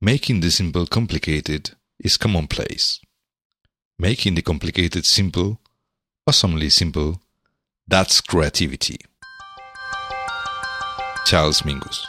Making the simple complicated is commonplace. Making the complicated simple, awesomely simple, that's creativity. Charles Mingus.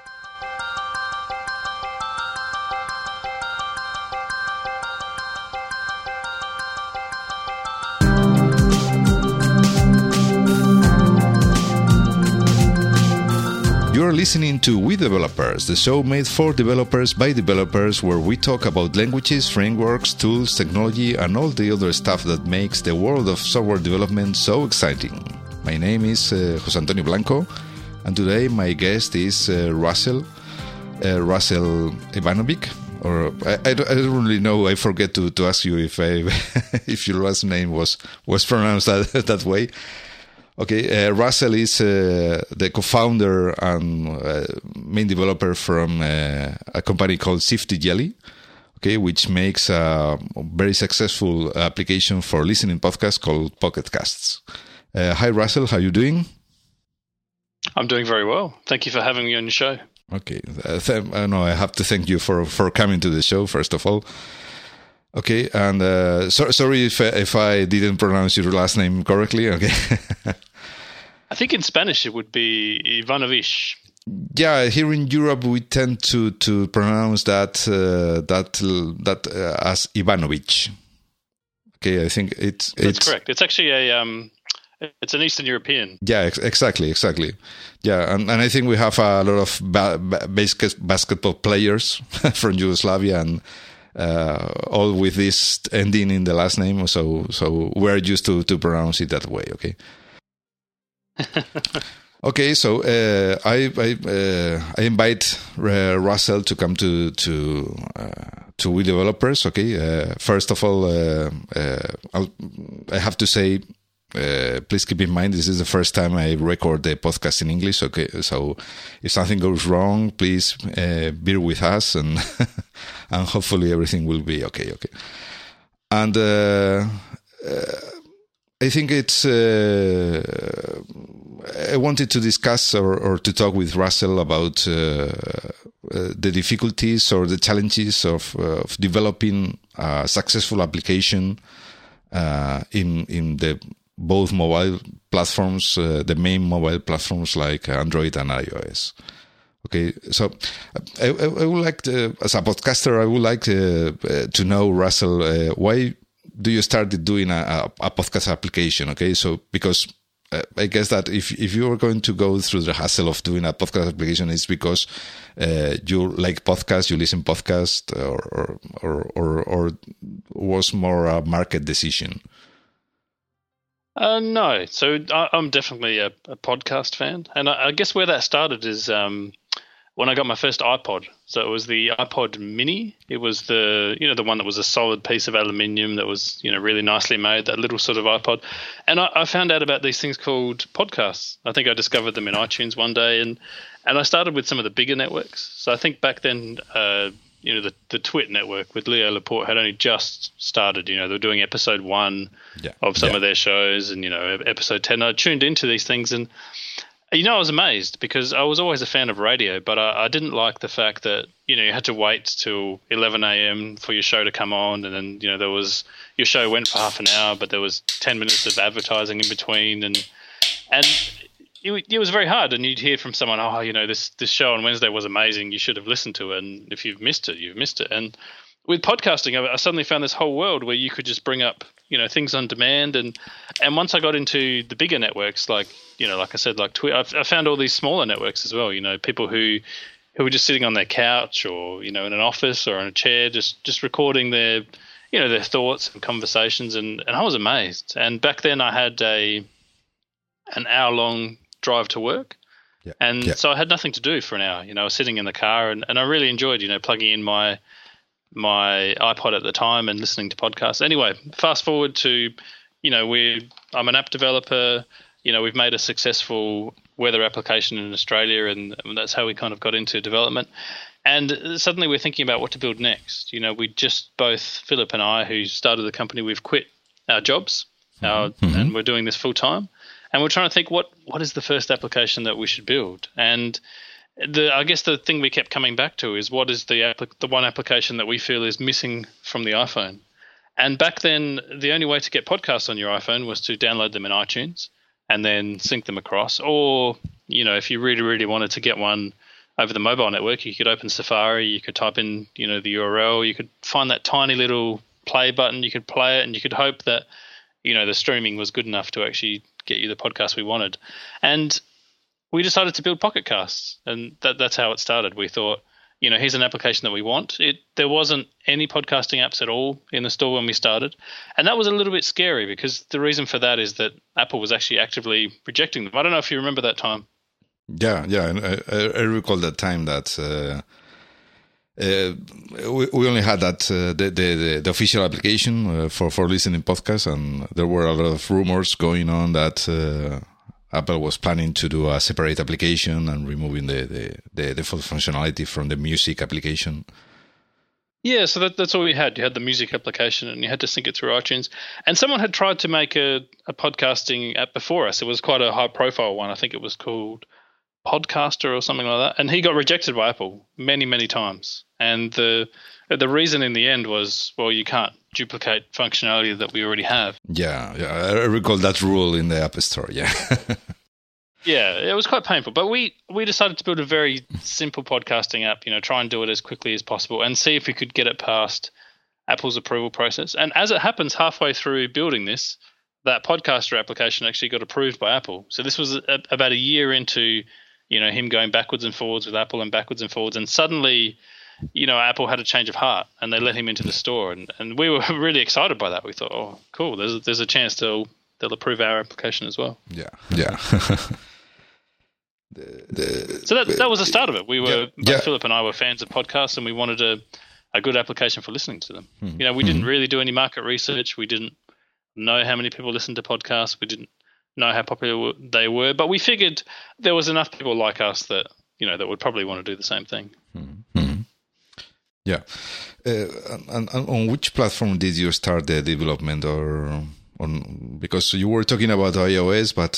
You're listening to We Developers, the show made for developers by developers, where we talk about languages, frameworks, tools, technology, and all the other stuff that makes the world of software development so exciting. My name is José Antonio Blanco, and today my guest is Russell Ivanovic. Or I don't really know. I forget to ask you if if your last name was pronounced that way. Okay, Russell is the co-founder and main developer from a company called Sifty Jelly, okay, which makes a very successful application for listening podcasts called Pocket Casts. Hi, Russell. How are you doing? I'm doing very well. Thank you for having me on your show. Okay. I have to thank you for coming to the show, first of all. Okay, and sorry if I didn't pronounce your last name correctly. Okay. I think in Spanish it would be Ivanovic. Yeah, here in Europe we tend to pronounce that as Ivanovic. Okay, I think it's correct. It's actually it's an Eastern European. Yeah, exactly. Yeah, and I think we have a lot of basketball players from Yugoslavia and all with this ending in the last name. So we're used to pronounce it that way. Okay. Okay, so I invite Russell to come to We Developers. Okay, first of all, I have to say, please keep in mind this is the first time I record the podcast in English. Okay, so if something goes wrong, please bear with us, and and hopefully everything will be okay. Okay, and I think it's. I wanted to discuss or to talk with Russell about the difficulties or the challenges of developing a successful application in the both mobile platforms, the main mobile platforms like Android and iOS. Okay, so I would like to, as a podcaster, I would like to know, Russell, why do you start doing a podcast application? Okay, so because I guess that if you are going to go through the hassle of doing a podcast application, it's because you like podcasts, you listen podcasts, or was more a market decision? No, so I'm definitely a podcast fan, and I guess where that started is when I got my first iPod. So it was the iPod Mini. It was the one that was a solid piece of aluminium that was really nicely made, that little sort of iPod. And I found out about these things called podcasts. I think I discovered them in iTunes one day, and I started with some of the bigger networks. So I think back then, the Twit network with Leo Laporte had only just started. They were doing episode 1 of some of their shows, and episode 10. I tuned into these things, and I was amazed because I was always a fan of radio, but I didn't like the fact that, you had to wait till 11 a.m. for your show to come on. And then, there was, your show went for half an hour, but there was 10 minutes of advertising in between. And it was very hard. And you'd hear from someone, this show on Wednesday was amazing. You should have listened to it. And if you've missed it, you've missed it. And with podcasting, I suddenly found this whole world where you could just bring up, things on demand. And once I got into the bigger networks, like I said, like Twitter, I found all these smaller networks as well. People who were just sitting on their couch or, in an office or in a chair, just recording their thoughts and conversations. And I was amazed. And back then I had an hour-long drive to work. Yeah. So I had nothing to do for an hour. I was sitting in the car and I really enjoyed, plugging in my iPod at the time and listening to podcasts. Anyway, fast forward to, I'm an app developer. We've made a successful weather application in Australia, and that's how we kind of got into development. And suddenly we're thinking about what to build next. We just both, Philip and I, who started the company, we've quit our jobs, and we're doing this full time. And we're trying to think what is the first application that we should build. And I guess the thing we kept coming back to is what is the one application that we feel is missing from the iPhone. And back then, the only way to get podcasts on your iPhone was to download them in iTunes and then sync them across. Or, if you really, really wanted to get one over the mobile network, you could open Safari, you could type in, the URL, you could find that tiny little play button, you could play it, and you could hope that, the streaming was good enough to actually get you the podcast we wanted. And we decided to build Pocket Casts, and that's how it started. We thought, here's an application that we want. There wasn't any podcasting apps at all in the store when we started, and that was a little bit scary because the reason for that is that Apple was actually actively rejecting them. I don't know if you remember that time. Yeah, I recall that time that we only had that the official application for listening podcasts, and there were a lot of rumors going on that Apple was planning to do a separate application and removing the full functionality from the music application. Yeah, so that's all we had. You had the music application and you had to sync it through iTunes. And someone had tried to make a podcasting app before us. It was quite a high-profile one. I think it was called Podcaster or something like that. And he got rejected by Apple many, many times. And the reason in the end was, well, you can't duplicate functionality that we already have. Yeah, I recall that rule in the App Store, yeah. Yeah, it was quite painful. But we decided to build a very simple podcasting app, try and do it as quickly as possible and see if we could get it past Apple's approval process. And as it happens, halfway through building this, that Podcaster application actually got approved by Apple. So this was about a year into, him going backwards and forwards with Apple and backwards and forwards. And suddenly, Apple had a change of heart and they let him into the store. And we were really excited by that. We thought, oh, cool, there's a chance they'll approve our application as well. Yeah. So that was the start of it. We were Philip and I were fans of podcasts, and we wanted a good application for listening to them. We didn't really do any market research. We didn't know how many people listened to podcasts. We didn't know how popular they were, but we figured there was enough people like us that that would probably want to do the same thing. Yeah, and on which platform did you start the development, or on? Because you were talking about iOS, but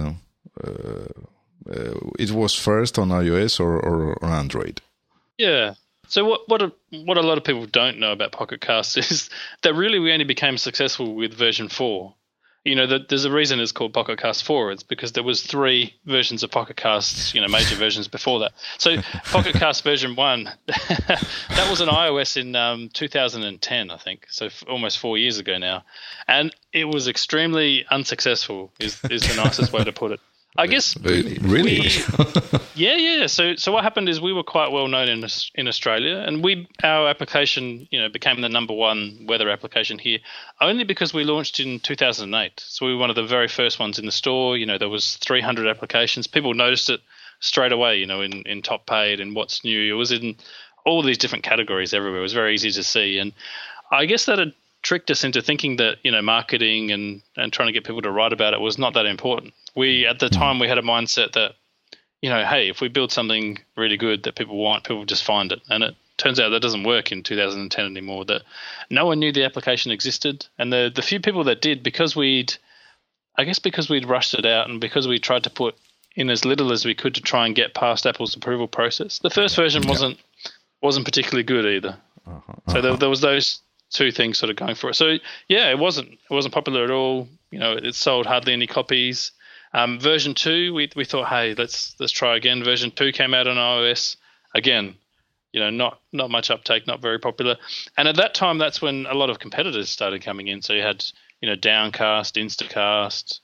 it was first on iOS or on Android? Yeah. So what a lot of people don't know about Pocket Casts is that really we only became successful with version 4. There's a reason it's called Pocket Cast 4. It's because there was 3 versions of Pocket Casts, major versions before that. So Pocket Cast version 1, that was on iOS in 2010, I think. So almost 4 years ago now, and it was extremely unsuccessful. Is the nicest way to put it. I guess really. Yeah. So what happened is we were quite well known in Australia, and our application, became the number 1 weather application here, only because we launched in 2008. So we were one of the very first ones in the store. There was 300 applications. People noticed it straight away. In top paid and what's new. It was in all these different categories everywhere. It was very easy to see, and I guess that had tricked us into thinking that marketing and trying to get people to write about it was not that important. At the time we had a mindset that hey, if we build something really good that people want, people just find it. And it turns out that doesn't work in 2010 anymore. That no one knew the application existed, and the few people that did, because we'd rushed it out and because we tried to put in as little as we could to try and get past Apple's approval process. The first version wasn't particularly good either. So there was those 2 things sort of going for it. So yeah, it wasn't popular at all. It sold hardly any copies. Version 2, we thought, hey, let's try again. Version 2 came out on iOS. Again, not much uptake, not very popular. And at that time, that's when a lot of competitors started coming in. So you had, Downcast, Instacast,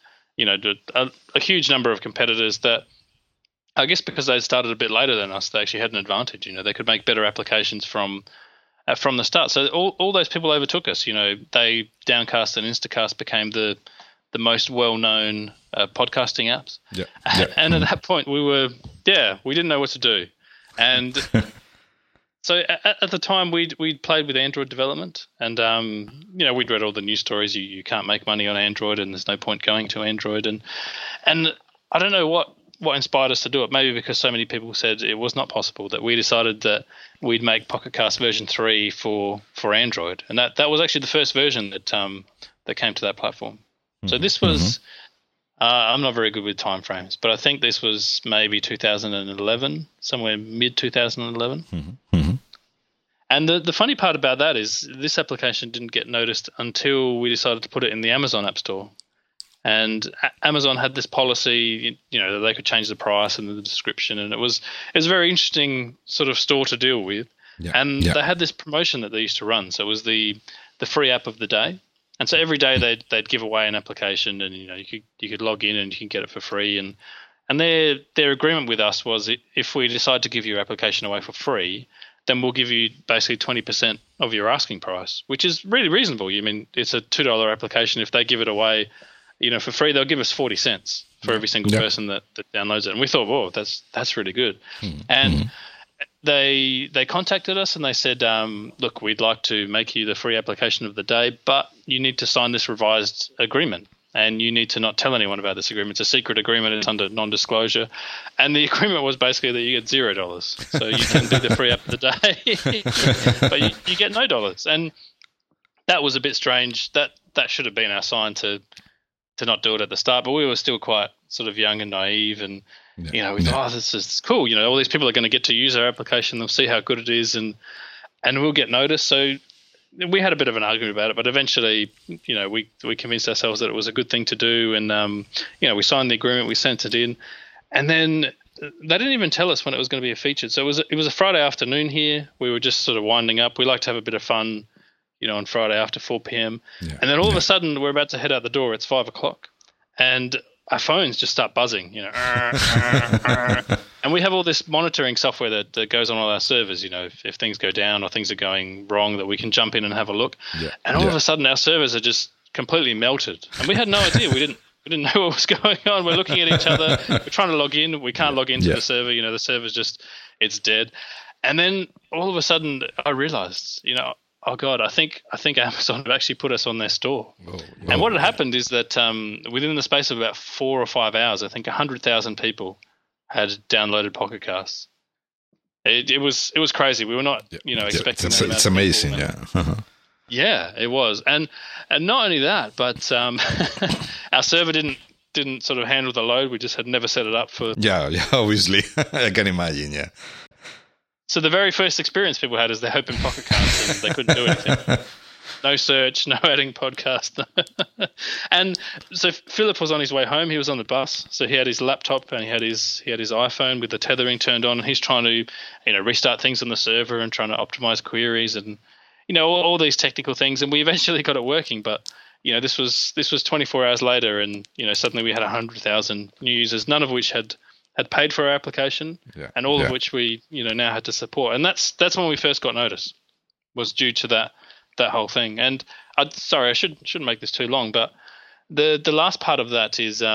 a huge number of competitors that, I guess because they started a bit later than us, they actually had an advantage. They could make better applications from the start. So all those people overtook us. Downcast and Instacast became the most well-known podcasting apps. Yeah. And at that point we didn't know what to do. And so at the time we'd played with Android development, and we'd read all the news stories. You can't make money on Android and there's no point going to Android. And I don't know what inspired us to do it. Maybe because so many people said it was not possible, that we decided that we'd make Pocket Cast version 3 for Android. And that was actually the first version that came to that platform. So this was I'm not very good with timeframes, but I think this was maybe 2011, somewhere mid 2011. Mm-hmm. Mm-hmm. And the funny part about that is this application didn't get noticed until we decided to put it in the Amazon App Store. And Amazon had this policy, that they could change the price and the description, and it was a very interesting sort of store to deal with. Yeah. And they had this promotion that they used to run. So it was the free app of the day. And so every day they'd give away an application, and you could log in and you can get it for free. And their agreement with us was, if we decide to give your application away for free, then we'll give you basically 20% of your asking price, which is really reasonable. I mean, it's a $2 application. If they give it away, for free, they'll give us 40 cents for every single person that downloads it. And we thought, whoa, that's really good. Mm-hmm. And they contacted us and they said, look, we'd like to make you the free application of the day, but you need to sign this revised agreement. And you need to not tell anyone about this agreement. It's a secret agreement. It's under non-disclosure. And the agreement was basically that you get $0. So you can do the free app of the day, but you get no dollars. And that was a bit strange. That should have been our sign to not do it at the start. But we were still quite sort of young and naive. And, we thought, this is cool. All these people are going to get to use our application. They'll see how good it is and we'll get noticed. So we had a bit of an argument about it, but eventually, we convinced ourselves that it was a good thing to do, and we signed the agreement, we sent it in, and then they didn't even tell us when it was going to be featured. So it was a Friday afternoon here. We were just sort of winding up. We like to have a bit of fun, on Friday after 4 p.m. Yeah. And then all of a sudden, we're about to head out the door. It's 5 o'clock, and our phones just start buzzing. And we have all this monitoring software that goes on all our servers, if things go down or things are going wrong, that we can jump in and have a look. Yeah. And all of a sudden our servers are just completely melted. And we had no idea. We didn't know what was going on. We're looking at each other. We're trying to log in. We can't log into the server. The server's just, it's dead. And then all of a sudden I realized, oh God, I think Amazon have actually put us on their store. And what had happened is that within the space of about 4 or 5 hours, I think 100,000 people had downloaded Pocket Casts. It was crazy. We were not, expecting that. It's amazing, Yeah, it was. And not only that, but our server didn't sort of handle the load. We just had never set it up for. Yeah, obviously. I can imagine, yeah. So the very first experience people had is they opened Pocket Casts and they couldn't do anything. No search, no adding podcast. And so Philip was on his way home. He was on the bus. So he had his laptop and he had his iPhone with the tethering turned on. And he's trying to, restart things on the server and trying to optimize queries and, all these technical things. And we eventually got it working. But, this was 24 hours later and, suddenly we had 100,000 new users, none of which had paid for our application and all of which we, now had to support. And that's when we first got noticed, was due to that whole thing. And I shouldn't make this too long, but the last part of that is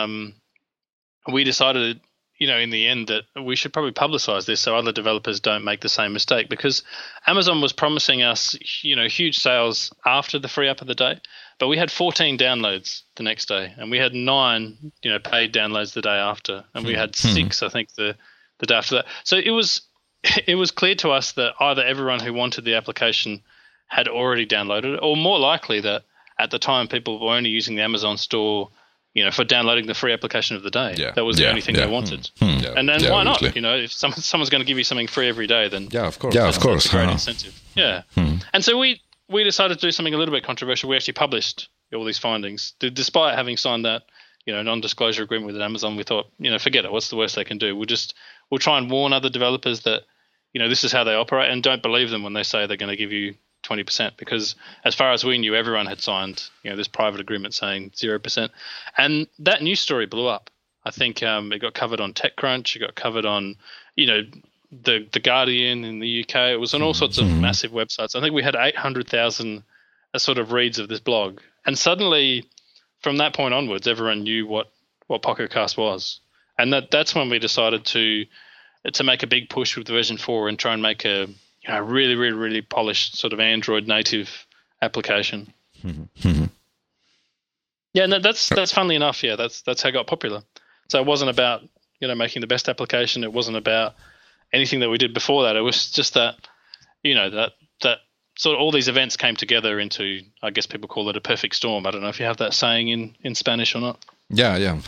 we decided, in the end that we should probably publicize this so other developers don't make the same mistake, because Amazon was promising us, huge sales after the free app of the day, but we had 14 downloads the next day and we had 9, paid downloads the day after, and we had 6, I think, the day after that. So it was clear to us that either everyone who wanted the application had already downloaded it, or more likely that at the time people were only using the Amazon store, for downloading the free application of the day. Yeah. That was the only thing they wanted. And then why not? If someone's going to give you something free every day, then of course. That's a great incentive. Yeah. And so we decided to do something a little bit controversial. We actually published all these findings, despite having signed that non-disclosure agreement with Amazon. We thought, forget it. What's the worst they can do? We'll try and warn other developers that this is how they operate, and don't believe them when they say they're going to give you 20%, because as far as we knew, everyone had signed this private agreement saying 0%, and that news story blew up. I think it got covered on TechCrunch, it got covered on the Guardian in the UK. It was on all sorts of massive websites. I think we had 800,000 sort of reads of this blog, and suddenly from that point onwards, everyone knew what Pocket Cast was, and that's when we decided to make a big push with version 4 and try and make a really, really, really polished sort of Android native application. Yeah, and that's funnily enough. Yeah, that's how it got popular. So it wasn't about making the best application. It wasn't about anything that we did before that. It was just that that sort of all these events came together into, I guess people call it a perfect storm. I don't know if you have that saying in Spanish or not. Yeah.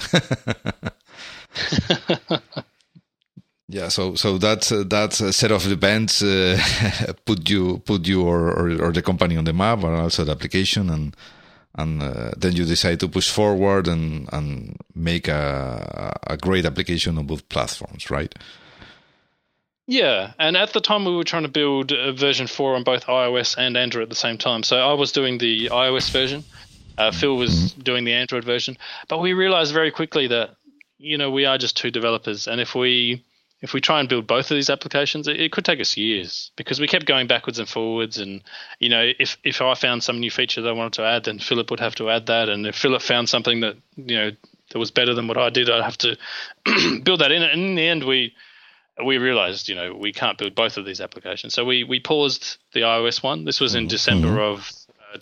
Yeah, so that set of events put you or the company on the map, and also the application, and then you decide to push forward and make a great application on both platforms, right? Yeah, and at the time we were trying to build version 4 on both iOS and Android at the same time. So I was doing the iOS version, Phil was doing the Android version, but we realized very quickly that we are just two developers, and if we try and build both of these applications, it could take us years, because we kept going backwards and forwards. And, if I found some new feature that I wanted to add, then Philip would have to add that. And if Philip found something that, that was better than what I did, I'd have to build that in. And in the end, we realized, we can't build both of these applications. So we paused the iOS one. This was in December of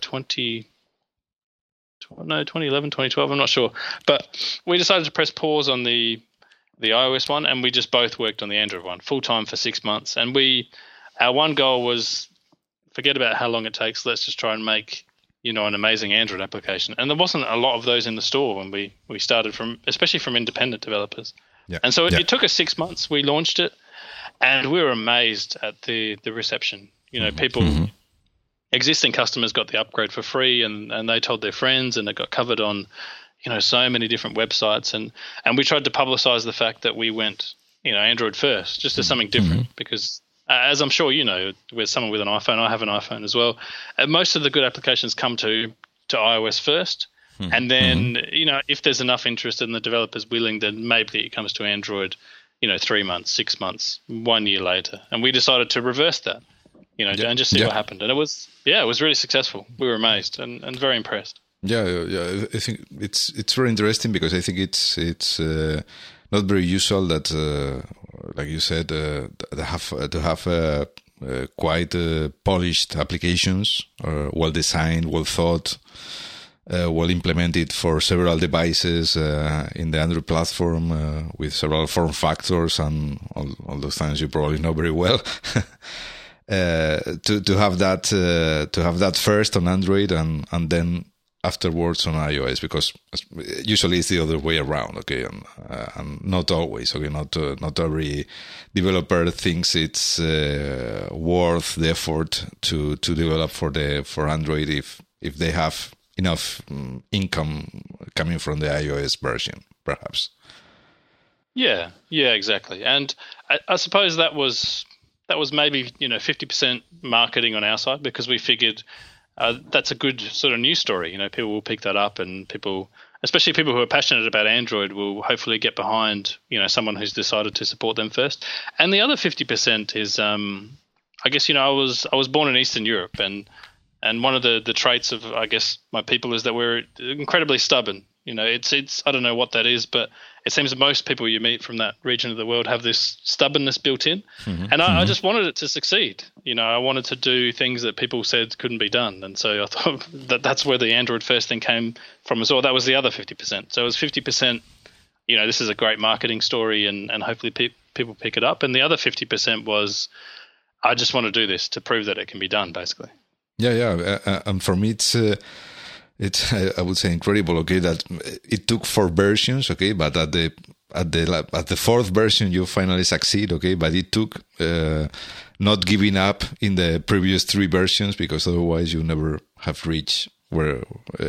2011, 2012, I'm not sure. But we decided to press pause on the iOS one, and we just both worked on the Android one full time for 6 months. And our one goal was, forget about how long it takes. Let's just try and make, an amazing Android application. And there wasn't a lot of those in the store when we started, especially from independent developers. Yeah. And so it took us 6 months. We launched it, and we were amazed at the reception. People, existing customers got the upgrade for free, and they told their friends, and it got covered on so many different websites, and we tried to publicize the fact that we went, Android first, just as something different, because as I'm sure with someone with an iPhone, I have an iPhone as well, most of the good applications come to iOS first, and then, if there's enough interest and the developer's willing, then maybe it comes to Android, 3 months, 6 months, 1 year later. And we decided to reverse that, and just see what happened. And it was really successful. We were amazed and very impressed. Yeah. I think it's very interesting, because I think it's not very usual that, like you said, to have quite polished applications, well designed, well thought, well implemented for several devices in the Android platform, with several form factors and all those things you probably know very well. To have that first on Android and then afterwards on iOS, because usually it's the other way around, okay, and not always, okay, not every developer thinks it's worth the effort to develop for Android if they have enough income coming from the iOS version, perhaps. Yeah, exactly. And I suppose that was maybe 50% marketing on our side, because we figured that's a good sort of news story. People will pick that up, and people, especially people who are passionate about Android, will hopefully get behind someone who's decided to support them first. And the other 50% is, I guess I was born in Eastern Europe, and one of the traits of, I guess, my people is that we're incredibly stubborn. It's I don't know what that is, but it seems that most people you meet from that region of the world have this stubbornness built in. And I just wanted it to succeed. I wanted to do things that people said couldn't be done. And so I thought that's where the Android first thing came from as well. That was the other 50%. So it was 50%, this is a great marketing story, and hopefully people pick it up. And the other 50% was, I just want to do this to prove that it can be done, basically. Yeah. And for me, it's I would say incredible. Okay, that it took 4 versions. Okay, but at the 4th version you finally succeed. Okay, but it took not giving up in the previous 3 versions, because otherwise you never have reached where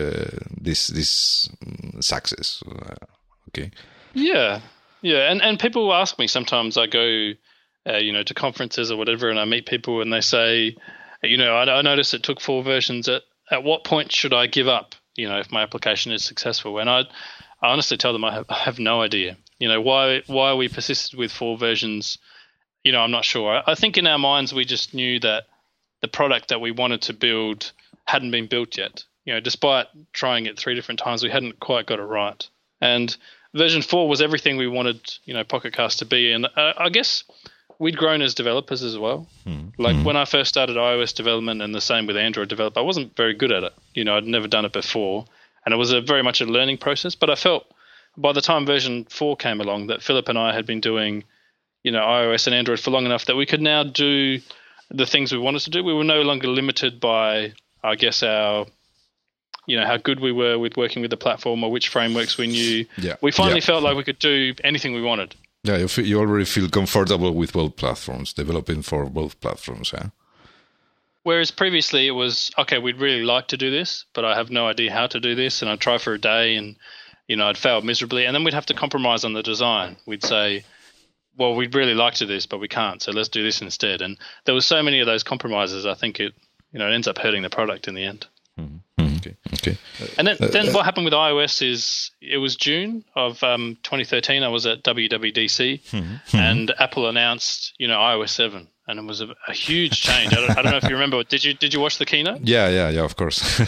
this success. Okay. Yeah, and people ask me sometimes. I go, to conferences or whatever, and I meet people, and they say, I noticed it took 4 versions. At what point should I give up, if my application is successful? And I honestly tell them I have no idea. Why we persisted with 4 versions, I'm not sure. I think in our minds we just knew that the product that we wanted to build hadn't been built yet. Despite trying it 3 different times, we hadn't quite got it right. And version 4 was everything we wanted, Pocket Cast to be. And I guess we'd grown as developers as well. When I first started iOS development, and the same with Android development, I wasn't very good at it. I'd never done it before, and it was very much a learning process. But I felt by the time version 4 came along that Philip and I had been doing, iOS and Android for long enough that we could now do the things we wanted to do. We were no longer limited by, I guess, our how good we were with working with the platform or which frameworks we knew. Yeah. We finally felt like we could do anything we wanted. Yeah, you already feel comfortable with both platforms, developing for both platforms, yeah? Whereas previously it was, okay, we'd really like to do this, but I have no idea how to do this, and I'd try for a day and, I'd fail miserably, and then we'd have to compromise on the design. We'd say, well, we'd really like to do this, but we can't, so let's do this instead. And there was so many of those compromises, I think it ends up hurting the product in the end. Okay. And then what happened with iOS is it was June of 2013. I was at WWDC, and Apple announced, iOS 7, and it was a huge change. I don't know if you remember. Did you watch the keynote? Yeah, of course.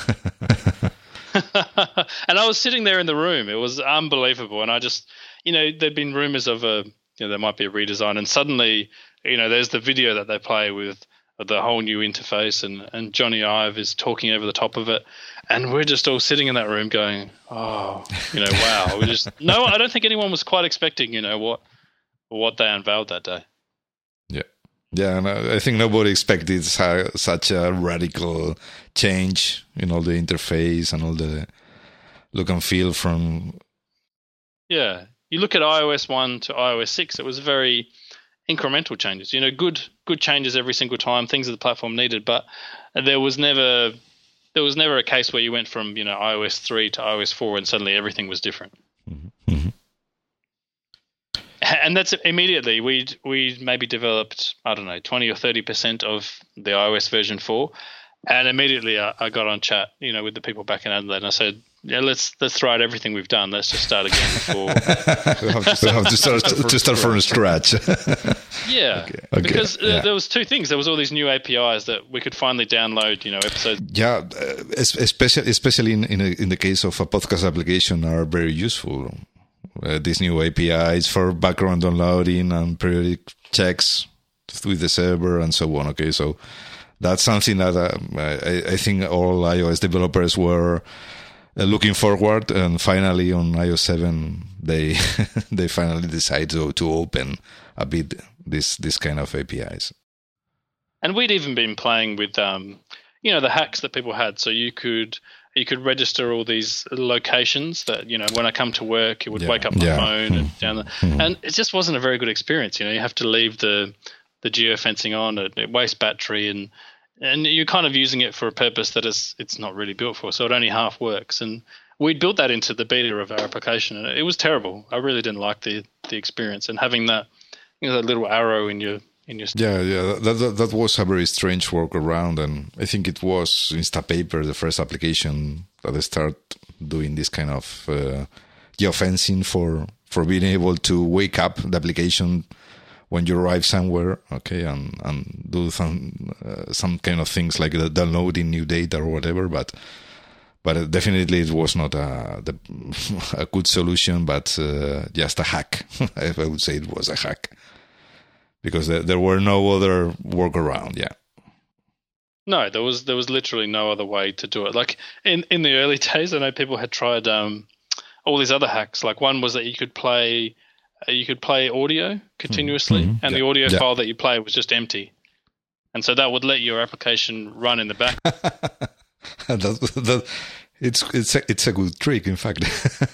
And I was sitting there in the room. It was unbelievable. And I just, there'd been rumors of there might be a redesign, and suddenly, there's the video that they play with the whole new interface, and Johnny Ive is talking over the top of it, and we're just all sitting in that room going, oh, wow. I don't think anyone was quite expecting, what they unveiled that day. Yeah, and I think nobody expected such a radical change in all the interface and all the look and feel from... Yeah, you look at iOS 1 to iOS 6, it was very incremental changes. Good changes every single time, things that the platform needed, but there was never a case where you went from iOS 3 to iOS 4 and suddenly everything was different. Mm-hmm. And that's immediately we maybe developed, I don't know, 20 or 30% of the iOS version 4, and immediately I got on chat, with the people back in Adelaide, and I said, yeah, let's throw out everything we've done. Let's just start again. We'll have to start from scratch. Yeah, okay. Because there was two things. There was all these new APIs that we could finally download, episodes. Yeah, especially in the case of a podcast application, are very useful. These new APIs for background downloading and periodic checks with the server and so on. Okay, so that's something that I think all iOS developers were looking forward, and finally on iOS 7 they they finally decide to open a bit this kind of APIs. And we'd even been playing with the hacks that people had, so you could register all these locations that, when I come to work, it would wake up my phone and down the, and it just wasn't a very good experience. You have to leave the geofencing on, it wastes battery, and you're kind of using it for a purpose that it's not really built for, so it only half works. And we'd built that into the beta of our application, and it was terrible. I really didn't like the experience, and having that, that little arrow in your that was a very strange workaround, and I think it was Instapaper, the first application that start doing this kind of geofencing for being able to wake up the application when you arrive somewhere, okay, and do some kind of things like downloading new data or whatever, but definitely it was not a good solution, but just a hack. I would say it was a hack, because there were no other workaround. Yeah. No, there was literally no other way to do it. Like in the early days, I know people had tried all these other hacks. Like one was that you could play audio continuously, and the audio file that you play was just empty, and so that would let your application run in the back. It's a good trick, in fact.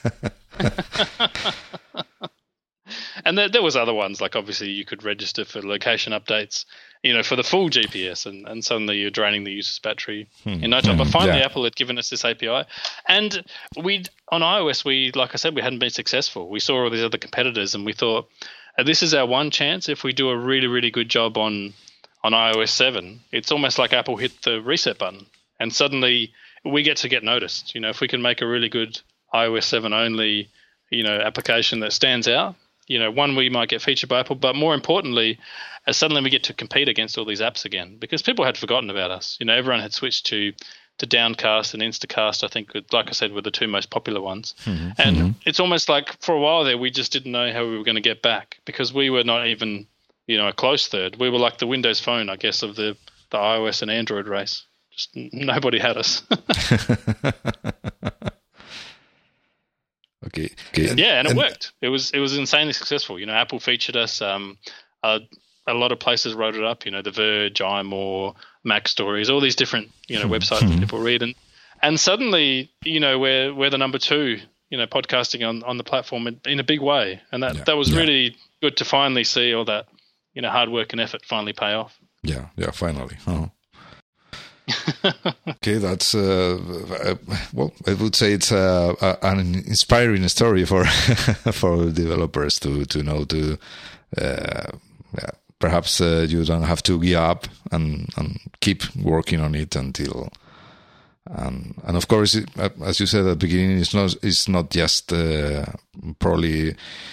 And there was other ones, like obviously you could register for location updates, for the full GPS, and suddenly you're draining the user's battery in no time. But finally, Apple had given us this API, and on iOS, like I said, we hadn't been successful. We saw all these other competitors, and we thought, this is our one chance. If we do a really, really good job on iOS 7, it's almost like Apple hit the reset button, and suddenly we get noticed. If we can make a really good iOS 7 only, application that stands out, one, we might get featured by Apple, but more importantly, suddenly we get to compete against all these apps again, because people had forgotten about us. Everyone had switched to Downcast and Instacast, I think, like I said, were the two most popular ones. And it's almost like for a while there, we just didn't know how we were going to get back, because we were not even, a close third. We were like the Windows Phone, I guess, of the iOS and Android race. Just nobody had us. Okay. Yeah, and it worked. It was insanely successful. Apple featured us. A lot of places wrote it up. The Verge, iMore, Mac Stories, all these different websites that people read, and suddenly, we're the number 2, podcasting on the platform in a big way, and that was really good to finally see all that, hard work and effort finally pay off. Yeah, finally. Oh. Okay, that's well, I would say it's an inspiring story for for developers to know to perhaps you don't have to give up and keep working on it until and of course as you said at the beginning, it's not just probably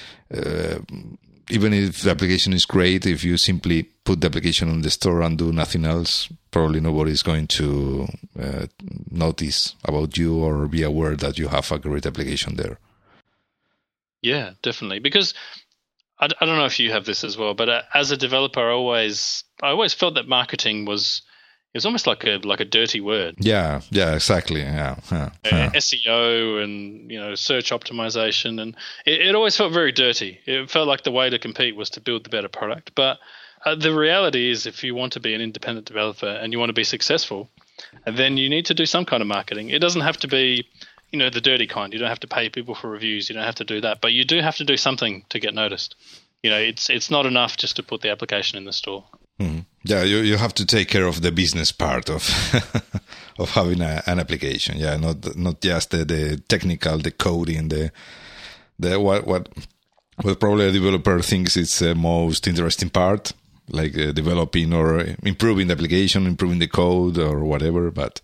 even if the application is great, if you simply put the application on the store and do nothing else, probably nobody's going to notice about you or be aware that you have a great application there. Yeah, definitely. Because I don't know if you have this as well, but as a developer, I always felt that marketing was almost like a dirty word. Yeah, exactly. Yeah. SEO and search optimization, and it always felt very dirty. It felt like the way to compete was to build the better product. But the reality is, if you want to be an independent developer and you want to be successful, then you need to do some kind of marketing. It doesn't have to be the dirty kind. You don't have to pay people for reviews. You don't have to do that, but you do have to do something to get noticed. It's not enough just to put the application in the store. Mm-hmm. Yeah, you have to take care of the business part of of having an application. Yeah, not just the technical, the coding, the what probably a developer thinks it's the most interesting part, like developing or improving the application, improving the code or whatever. But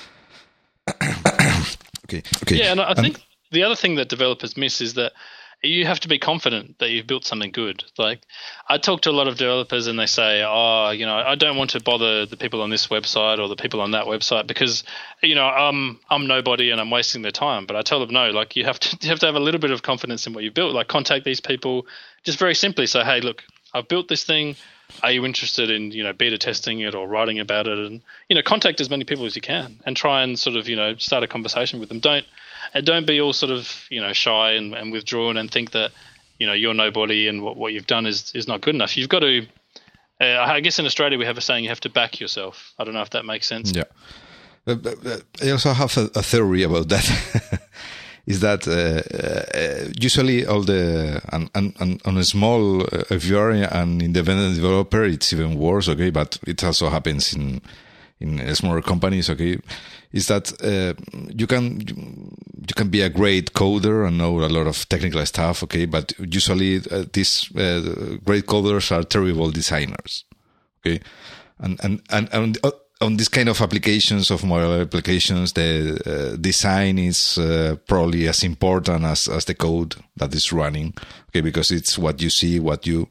okay. Yeah, and I think the other thing that developers miss is that you have to be confident that you've built something good. Like, I talk to a lot of developers and they say, I don't want to bother the people on this website or the people on that website because, I'm nobody and I'm wasting their time. But I tell them, no, like you have to have a little bit of confidence in what you've built. Like, contact these people, just very simply say, hey, look, I've built this thing. Are you interested in, beta testing it or writing about it? And, contact as many people as you can and try and sort of, start a conversation with them. Don't be all sort of, shy and withdrawn and think that, you're nobody and what you've done is not good enough. You've got to, I guess in Australia we have a saying, you have to back yourself. I don't know if that makes sense. Yeah. But I also have a theory about that. Is that usually all the and on a small, if you are an independent developer, it's even worse. Okay, but it also happens in smaller companies. Okay, is that you can be a great coder and know a lot of technical stuff. Okay, but usually these great coders are terrible designers. Okay, and on this kind of applications, of mobile applications, the design is probably as important as the code that is running. Okay, because it's what you see, what you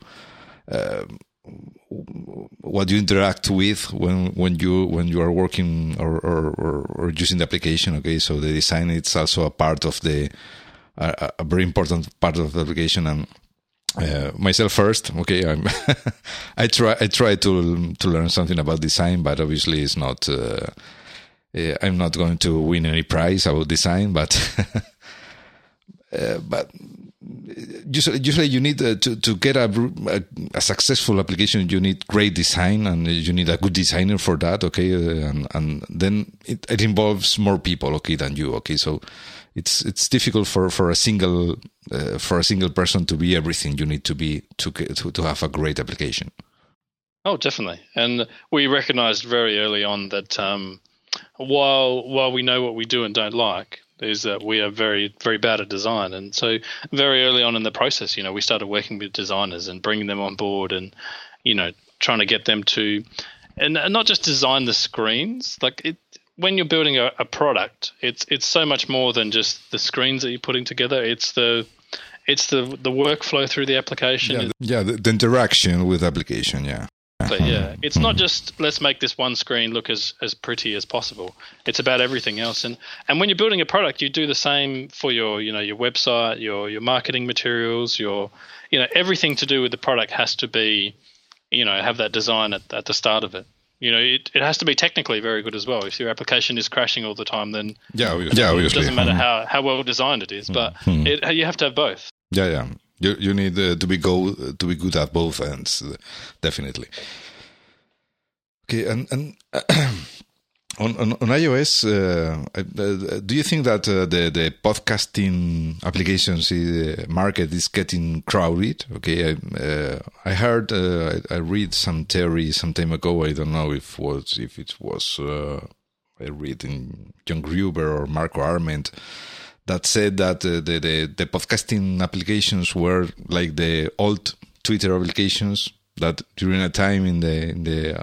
interact with when you are working or using the application. Okay, so the design is also a part of a very important part of the application. And myself first, okay, I try to learn something about design, but obviously it's not. I'm not going to win any prize about design, but usually you need to get a successful application. You need great design, and you need a good designer for that. Okay, and then it involves more people, okay, than you. Okay, so it's difficult for a single person to be everything you need to be to have a great application. Oh, definitely. And we recognized very early on that while we know what we do and don't like, is that we are very, very bad at design. And so very early on in the process, we started working with designers and bringing them on board and, trying to get them to, and not just design the screens. Like when you're building a product, it's so much more than just the screens that you're putting together. It's the workflow through the application. The interaction with the application, yeah. Yeah, it's not just let's make this one screen look as pretty as possible. It's about everything else, and when you're building a product, you do the same for your your website, your marketing materials, your everything to do with the product has to be have that design at the start of it. It has to be technically very good as well. If your application is crashing all the time, then obviously. It doesn't matter how well designed it is, but you have to have both. Yeah. You need to be good at both ends, definitely. Okay, and On iOS, do you think that the podcasting applications market is getting crowded? Okay, I heard, I read some theory some time ago. I don't know if it was I read in John Gruber or Marco Arment, that said that the podcasting applications were like the old Twitter applications, that during a time in the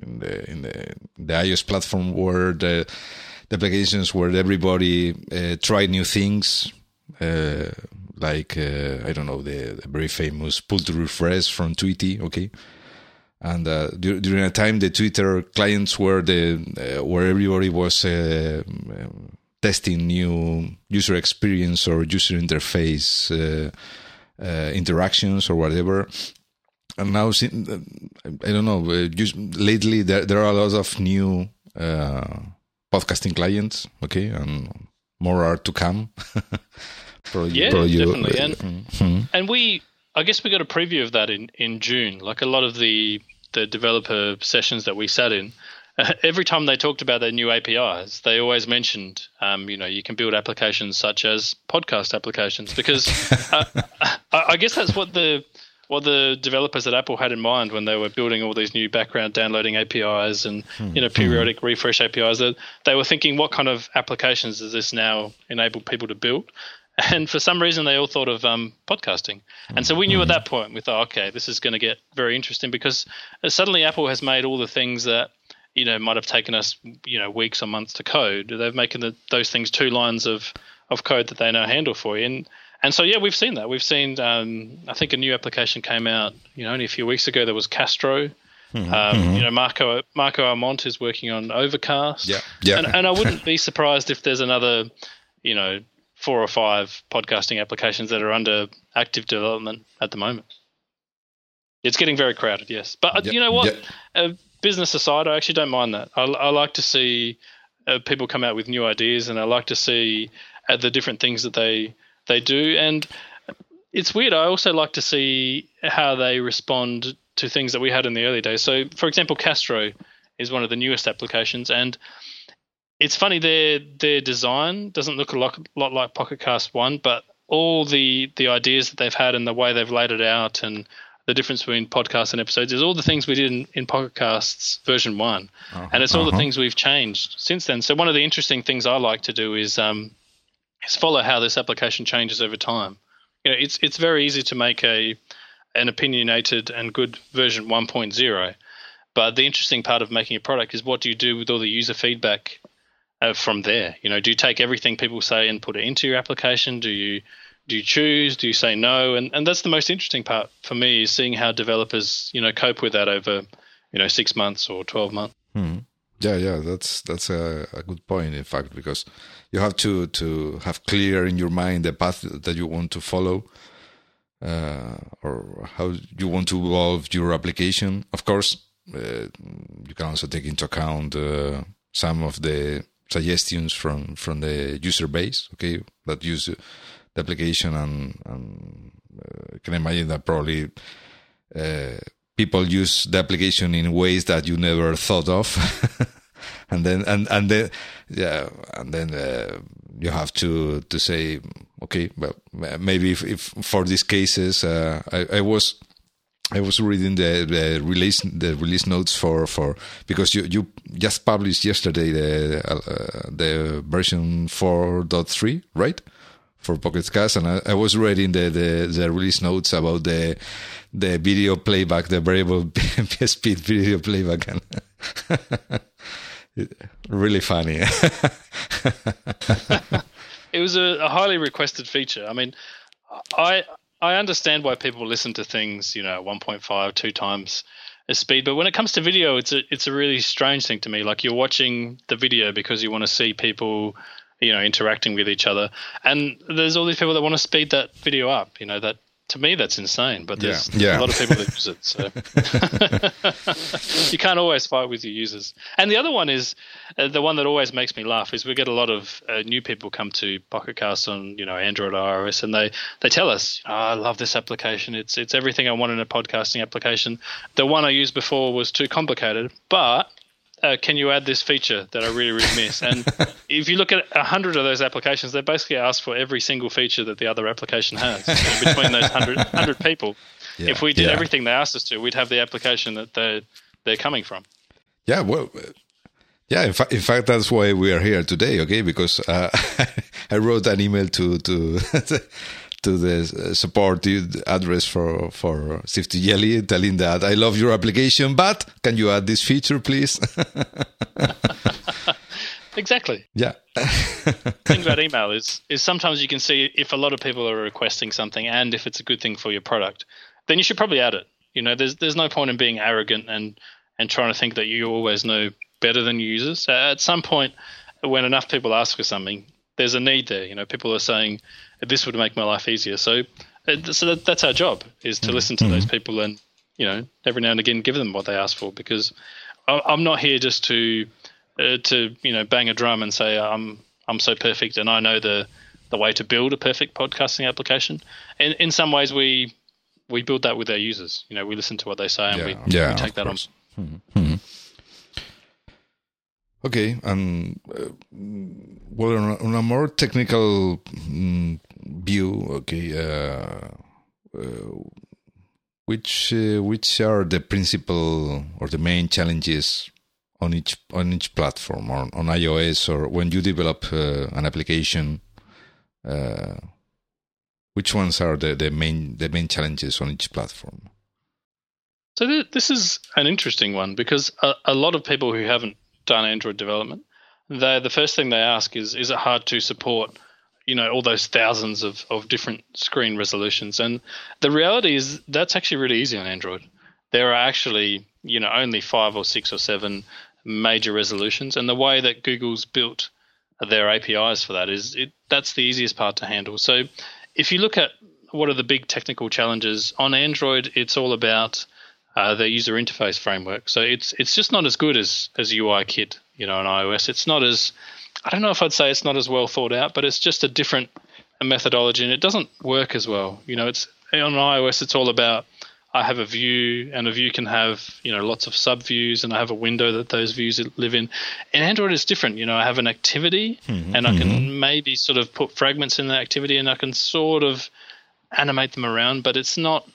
iOS platform were the applications where everybody tried new things, like I don't know, the very famous pull to refresh from Tweety, okay. And during a time, the Twitter clients were where everybody was testing new user experience or user interface interactions or whatever. And now, I don't know, lately there are a lot of new podcasting clients, okay, and more are to come. Definitely. And I guess we got a preview of that in June. Like a lot of the developer sessions that we sat in, every time they talked about their new APIs, they always mentioned, you can build applications such as podcast applications, because I guess that's what the developers at Apple had in mind when they were building all these new background downloading APIs and periodic refresh APIs. They were thinking, what kind of applications does this now enable people to build? And for some reason, they all thought of podcasting. And so we knew at that point, we thought, okay, this is going to get very interesting, because suddenly Apple has made all the things that might have taken us weeks or months to code. They've making those things 2 lines of code that they now handle for you. And so, yeah, we've seen that. We've seen, I think a new application came out, only a few weeks ago. There was Castro. Marco Arment is working on Overcast. Yeah. And I wouldn't be surprised if there's another, 4 or 5 podcasting applications that are under active development at the moment. It's getting very crowded, yes. But you know what? Business aside, I actually don't mind that. I like to see people come out with new ideas, and I like to see the different things that they do. And it's weird. I also like to see how they respond to things that we had in the early days. So, for example, Castro is one of the newest applications, and it's funny, their design doesn't look a lot like Pocket Cast 1, but all the ideas that they've had and the way they've laid it out and the difference between podcasts and episodes is all the things we did in Pocket Casts version 1. And it's all the things we've changed since then. So one of the interesting things I like to do is follow how this application changes over time. It's very easy to make an opinionated and good version 1.0, but the interesting part of making a product is, what do you do with all the user feedback from there? Do you take everything people say and put it into your application? Do you choose? Do you say no? And that's the most interesting part for me, is seeing how developers cope with that over 6 months or 12 months. Yeah, that's a good point, in fact, because you have to have clear in your mind the path that you want to follow, or how you want to evolve your application. Of course, you can also take into account some of the suggestions from the user base, okay, that use the application, and I can imagine that probably people use the application in ways that you never thought of, and then you have to say, okay, well, maybe if for these cases, I was reading the release notes for because you just published yesterday the version 4.3, right, for Pocket Cast, and I was reading the release notes about the video playback, the variable speed video playback, and really funny. It was a highly requested feature. I mean, I understand why people listen to things, 1.5, 2 times the speed. But when it comes to video, it's a really strange thing to me. Like, you're watching the video because you want to see people, interacting with each other. And there's all these people that want to speed that video up. That, to me, that's insane. But there's a lot of people that use it. So you can't always fight with your users. And the other one is the one that always makes me laugh is we get a lot of new people come to Pocket Cast on Android or iOS, and they tell us, I love this application. It's everything I want in a podcasting application. The one I used before was too complicated, but can you add this feature that I really, really miss? And if you look at 100 of those applications, they basically ask for every single feature that the other application has. And between those 100 people, if we did everything they asked us to, we'd have the application that they're coming from. Yeah, well, yeah. In fact, that's why we are here today. Okay, because I wrote an email to the support address for Sifty telling that I love your application, but can you add this feature, please? Exactly. Yeah. The thing about email is sometimes you can see if a lot of people are requesting something and if it's a good thing for your product, then you should probably add it. You know, there's no point in being arrogant and trying to think that you always know better than your users. At some point, when enough people ask for something, there's a need there. You know, people are saying this would make my life easier. So that's our job, is to listen to those people and, you know, every now and again give them what they ask for, because I'm not here just to you know, bang a drum and say I'm so perfect and I know the way to build a perfect podcasting application. And in some ways we build that with our users. You know, we listen to what they say and we take that on. Mm-hmm. Okay, well, on a more technical view, okay, which are the principal or the main challenges on each platform, on iOS, or when you develop an application? Which ones are the main challenges on each platform? So this is an interesting one, because a lot of people who haven't done Android development, the first thing they ask is it hard to support, you know, all those thousands of different screen resolutions? And the reality is that's actually really easy on Android. There are actually, you know, only 5 or 6 or 7 major resolutions, and the way that Google's built their APIs for that that's the easiest part to handle. So if you look at what are the big technical challenges on Android, it's all about the user interface framework. So it's just not as good as UIKit, you know, on iOS. It's not as, I don't know if I'd say it's not as well thought out, but it's just a different methodology, and it doesn't work as well. You know, it's on iOS, it's all about, I have a view, and a view can have, you know, lots of subviews, and I have a window that those views live in. In Android, it's different. You know, I have an activity, and I can maybe sort of put fragments in that activity, and I can sort of animate them around, but it's not,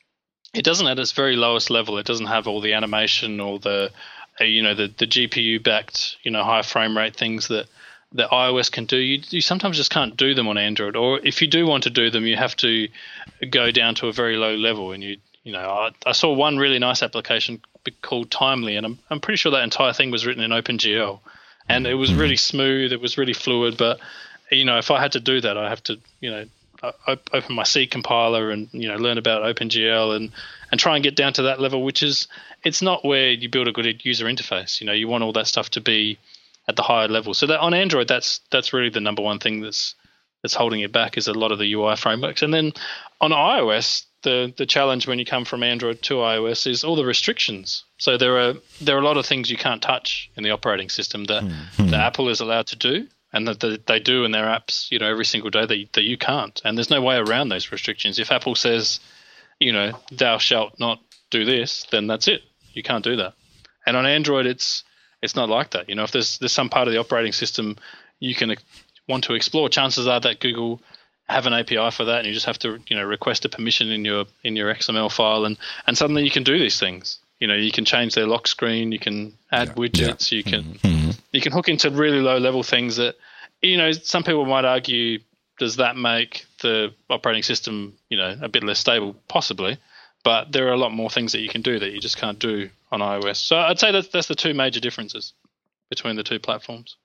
it doesn't at its very lowest level. It doesn't have all the animation or the, you know, the GPU backed, you know, high frame rate things that iOS can do. You sometimes just can't do them on Android, or if you do want to do them, you have to go down to a very low level. And you know, I saw one really nice application called Timely, and I'm pretty sure that entire thing was written in OpenGL, and it was really smooth. It was really fluid. But you know, if I had to do that, I have to, you know, open my C compiler and, you know, learn about OpenGL and try and get down to that level, which is, it's not where you build a good user interface. You know, you want all that stuff to be at the higher level. So that on Android, that's really the number one thing that's holding it back, is a lot of the UI frameworks. And then on iOS, the challenge when you come from Android to iOS is all the restrictions. So there are a lot of things you can't touch in the operating system that Apple is allowed to do, and that they do in their apps, you know, every single day that you can't. And there's no way around those restrictions. If Apple says, you know, thou shalt not do this, then that's it. You can't do that. And on Android, it's not like that. You know, if there's some part of the operating system you can want to explore, chances are that Google have an API for that, and you just have to, you know, request a permission in your XML file, and suddenly you can do these things. You know, you can change their lock screen, you can add widgets, you can hook into really low level things that, you know, some people might argue, does that make the operating system, you know, a bit less stable? Possibly, but there are a lot more things that you can do that you just can't do on iOS. So I'd say that's the two major differences between the two platforms.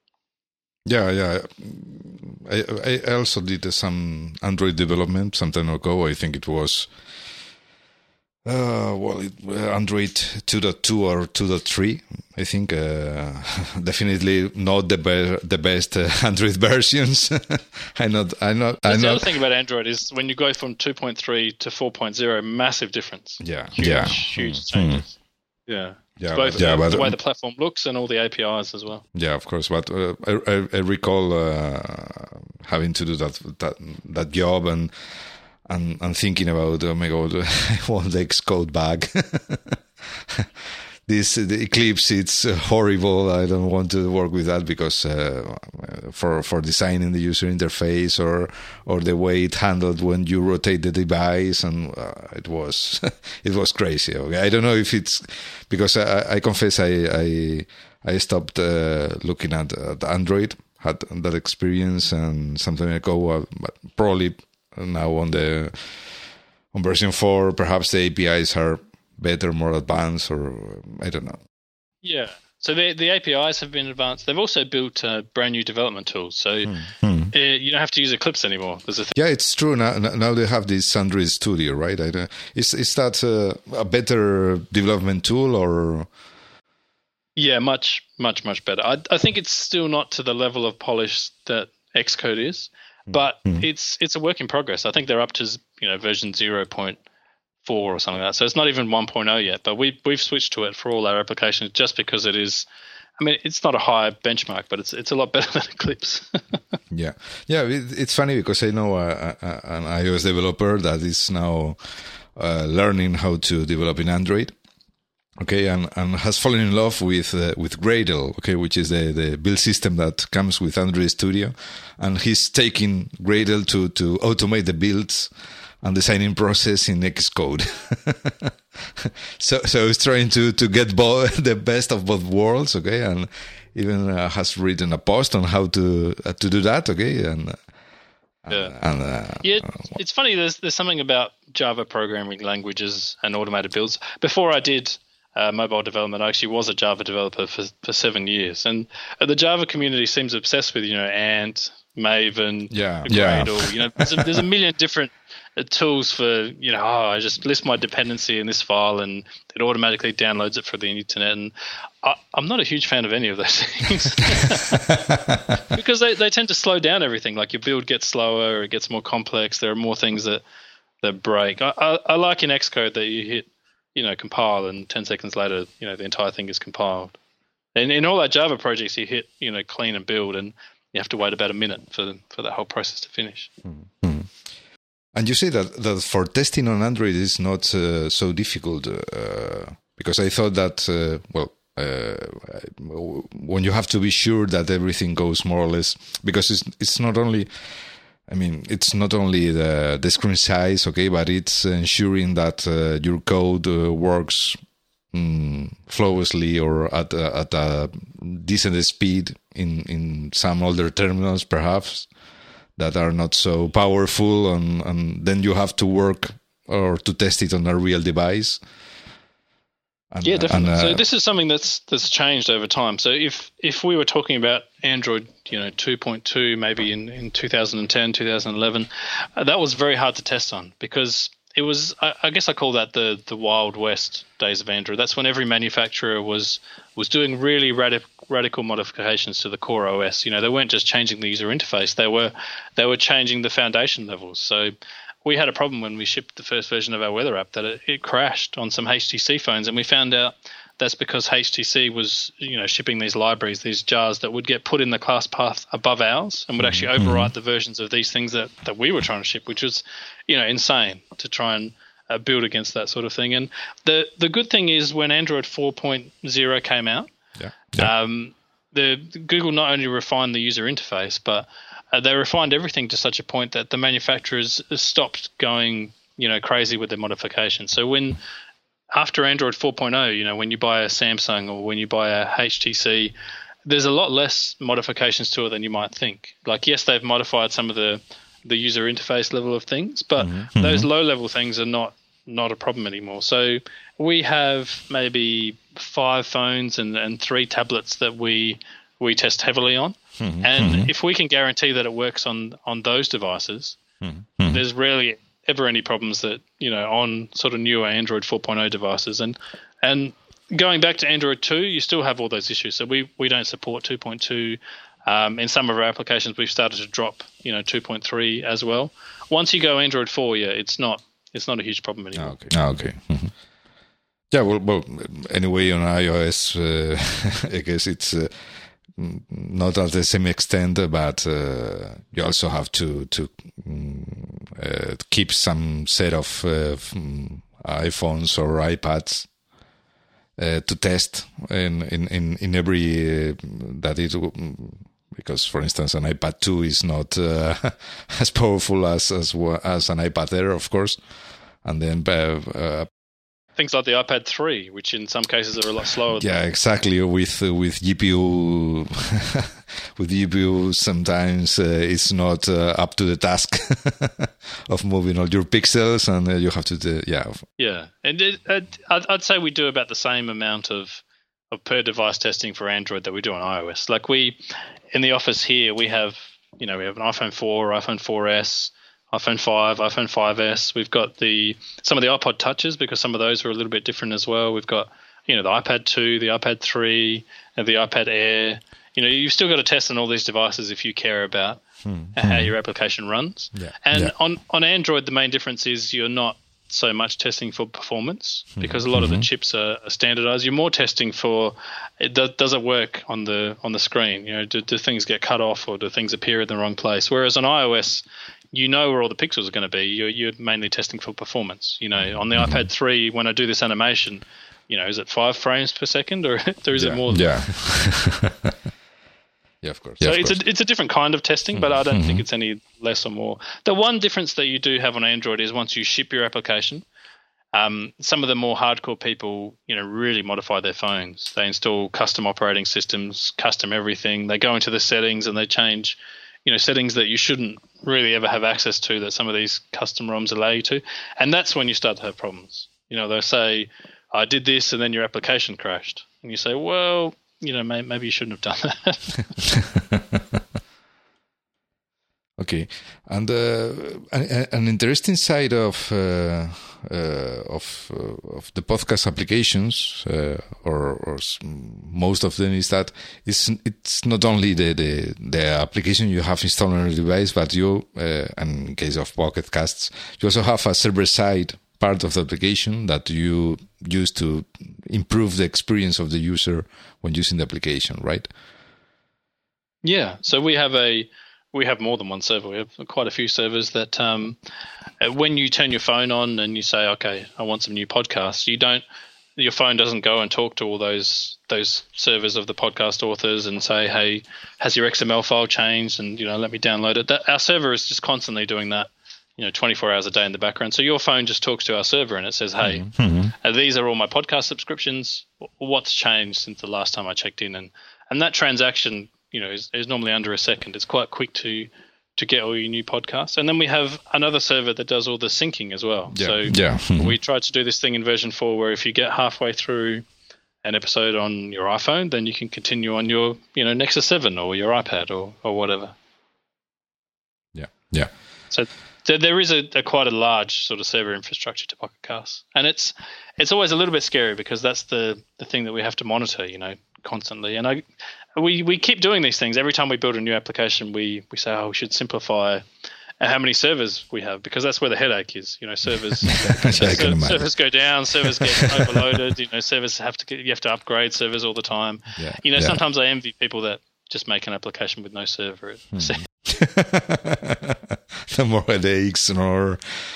Yeah. I also did some Android development some time ago. I think it was Android 2.2 or 2.3. I think definitely not the best Android versions. I'm not. The other thing about Android is when you go from 2.3 to 4.0, massive difference. Yeah, huge changes. Yeah. Yeah, both the way the platform looks and all the APIs as well. Yeah, of course. But I recall having to do that job and thinking about, oh my God, I want the Xcode back. the Eclipse, it's horrible. I don't want to work with that because for designing the user interface or the way it handled when you rotate the device, and it was it was crazy. Okay? I don't know if it's because I confess I stopped looking at Android, had that experience and some time ago, but probably now on version 4, perhaps the APIs are better, more advanced, or I don't know. Yeah. So the APIs have been advanced. They've also built brand new development tools. So you don't have to use Eclipse anymore. Yeah, it's true. Now they have this Android Studio, right? Is that a better development tool or? Yeah, much better. I think it's still not to the level of polish that Xcode is, but it's a work in progress. I think they're up to version 0.4 or something like that. So it's not even 1.0 yet, but we've switched to it for all our applications just because it is. I mean, it's not a high benchmark, but it's a lot better than Eclipse. Yeah. It's funny because I know an iOS developer that is now learning how to develop in Android. Okay, and has fallen in love with Gradle, okay, which is the build system that comes with Android Studio, and he's taking Gradle to automate the builds and designing process in Xcode. so he's trying to get the best of both worlds, okay, and even has written a post on how to do that, okay, it's funny. There's something about Java programming languages and automated builds. Before I did mobile development, I actually was a Java developer for 7 years, and the Java community seems obsessed with Ant, Maven, Gradle. There's a million different tools for I just list my dependency in this file and it automatically downloads it from the internet, and I'm not a huge fan of any of those things because they tend to slow down everything. Like your build gets slower, it gets more complex, there are more things that break. I like in Xcode that you hit compile and 10 seconds later the entire thing is compiled, and in all our Java projects you hit clean and build, and you have to wait about a minute for that whole process to finish. Mm-hmm. And you say that for testing on Android is not so difficult because I thought that when you have to be sure that everything goes more or less, because it's not only the screen size, okay, but it's ensuring that your code works flawlessly or at a decent speed in some older terminals, perhaps, that are not so powerful, and then you have to work or to test it on a real device. And, yeah, definitely. So this is something that's changed over time. So if we were talking about Android, 2.2, maybe in 2010, 2011, that was very hard to test on because it was, I guess I call that the Wild West days of Android. That's when every manufacturer was doing really radical modifications to the core OS. They weren't just changing the user interface; they were changing the foundation levels. So we had a problem when we shipped the first version of our weather app that it crashed on some HTC phones, and we found out that's because HTC was shipping these libraries, these jars that would get put in the class path above ours and would actually overwrite the versions of these things that we were trying to ship, which was insane to try and build against that sort of thing. And the good thing is when Android 4.0 came out, the Google not only refined the user interface, but they refined everything to such a point that the manufacturers stopped going crazy with their modifications. So after Android 4.0, when you buy a Samsung or when you buy a HTC, there's a lot less modifications to it than you might think. Like, yes, they've modified some of the user interface level of things, but those low-level things are not a problem anymore. So we have maybe 5 phones and 3 tablets that we test heavily on. And if we can guarantee that it works on those devices, there's rarely ever any problems that on sort of newer Android 4.0 devices. And going back to Android 2, you still have all those issues. So we don't support 2.2. In some of our applications, we've started to drop 2.3 as well. Once you go Android 4, it's not a huge problem anymore. Okay. Yeah, well, anyway, on iOS, I guess it's not at the same extent, but you also have to keep some set of iPhones or iPads to test in every that it. Because, for instance, an iPad 2 is not as powerful as an iPad Air, of course, and then things like the iPad 3, which in some cases are a lot slower. Yeah, exactly. With GPU, with GPU, sometimes it's not up to the task of moving all your pixels, and you have to Yeah, and I'd say we do about the same amount of per device testing for Android that we do on iOS. Like in the office here, we have an iPhone 4, iPhone 4S, iPhone 5, iPhone 5S. We've got some of the iPod Touches, because some of those are a little bit different as well. We've got the iPad 2, the iPad 3, and the iPad Air. You've still got to test on all these devices if you care about how your application runs. Yeah. And on Android, the main difference is you're not so much testing for performance, because a lot of the chips are standardized. You're more testing for does it work on the screen? Do things get cut off, or do things appear in the wrong place? Whereas on iOS, where all the pixels are going to be. You're mainly testing for performance. On the iPad 3, when I do this animation, is it 5 frames per second, or is it more than that? Yeah, of course. So yeah, it's a different kind of testing, but I don't think it's any less or more. The one difference that you do have on Android is once you ship your application, some of the more hardcore people, really modify their phones. They install custom operating systems, custom everything. They go into the settings and they change, settings that you shouldn't really ever have access to, that some of these custom ROMs allow you to. And that's when you start to have problems. They'll say, I did this, and then your application crashed. And you say, well, maybe you shouldn't have done that. Okay, and an interesting side of the podcast applications, or most of them, is that it's not only the application you have installed on your device, but you, and in case of Pocket Casts, you also have a server-side part of the application that you use to improve the experience of the user when using the application, right? Yeah. So we have more than one server. We have quite a few servers that when you turn your phone on and you say, okay, I want some new podcasts, your phone doesn't go and talk to all those servers of the podcast authors and say, hey, has your XML file changed? And, let me download it. Our server is just constantly doing that, 24 hours a day in the background. So your phone just talks to our server and it says, hey, these are all my podcast subscriptions. What's changed since the last time I checked in? And that transaction, is normally under a second. It's quite quick to get all your new podcasts. And then we have another server that does all the syncing as well. We tried to do this thing in version 4 where if you get halfway through an episode on your iPhone, then you can continue on your Nexus 7 or your iPad or whatever. Yeah. So there is a quite a large sort of server infrastructure to Pocket Casts. And it's always a little bit scary because that's the thing that we have to monitor, constantly. And we keep doing these things. Every time we build a new application, we say, we should simplify how many servers we have, because that's where the headache is. Servers servers go down, servers get overloaded. Servers you have to upgrade servers all the time. Sometimes I envy people that just make an application with no server. No more headaches, or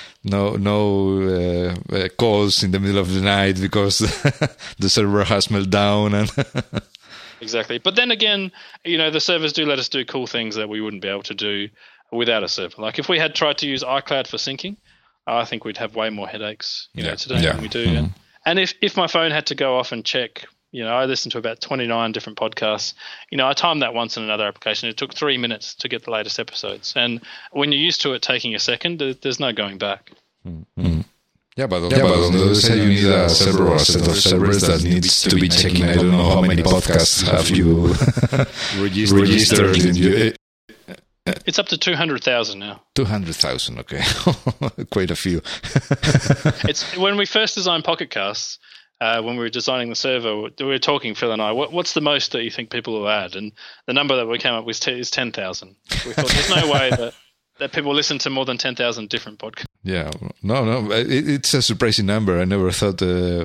no calls in the middle of the night because the server has meltdown and. Exactly. But then again, the servers do let us do cool things that we wouldn't be able to do without a server. Like if we had tried to use iCloud for syncing, I think we'd have way more headaches today than we do. And if my phone had to go off and check, I listened to about 29 different podcasts. I timed that once in another application. It took 3 minutes to get the latest episodes. And when you're used to it taking a second, there's no going back. Mm-hmm. Yeah, but on the other side, you need a server or a set of servers that needs to be checking. I don't know how many podcasts have you registered in your... It's up to 200,000 now. 200,000, okay. Quite a few. It's when we first designed Pocket Casts, when we were designing the server, we were talking, Phil and I, what's the most that you think people will add? And the number that we came up with is 10,000. We thought there's no way that people listen to more than 10,000 different podcasts. Yeah, no, it's a surprising number. I never thought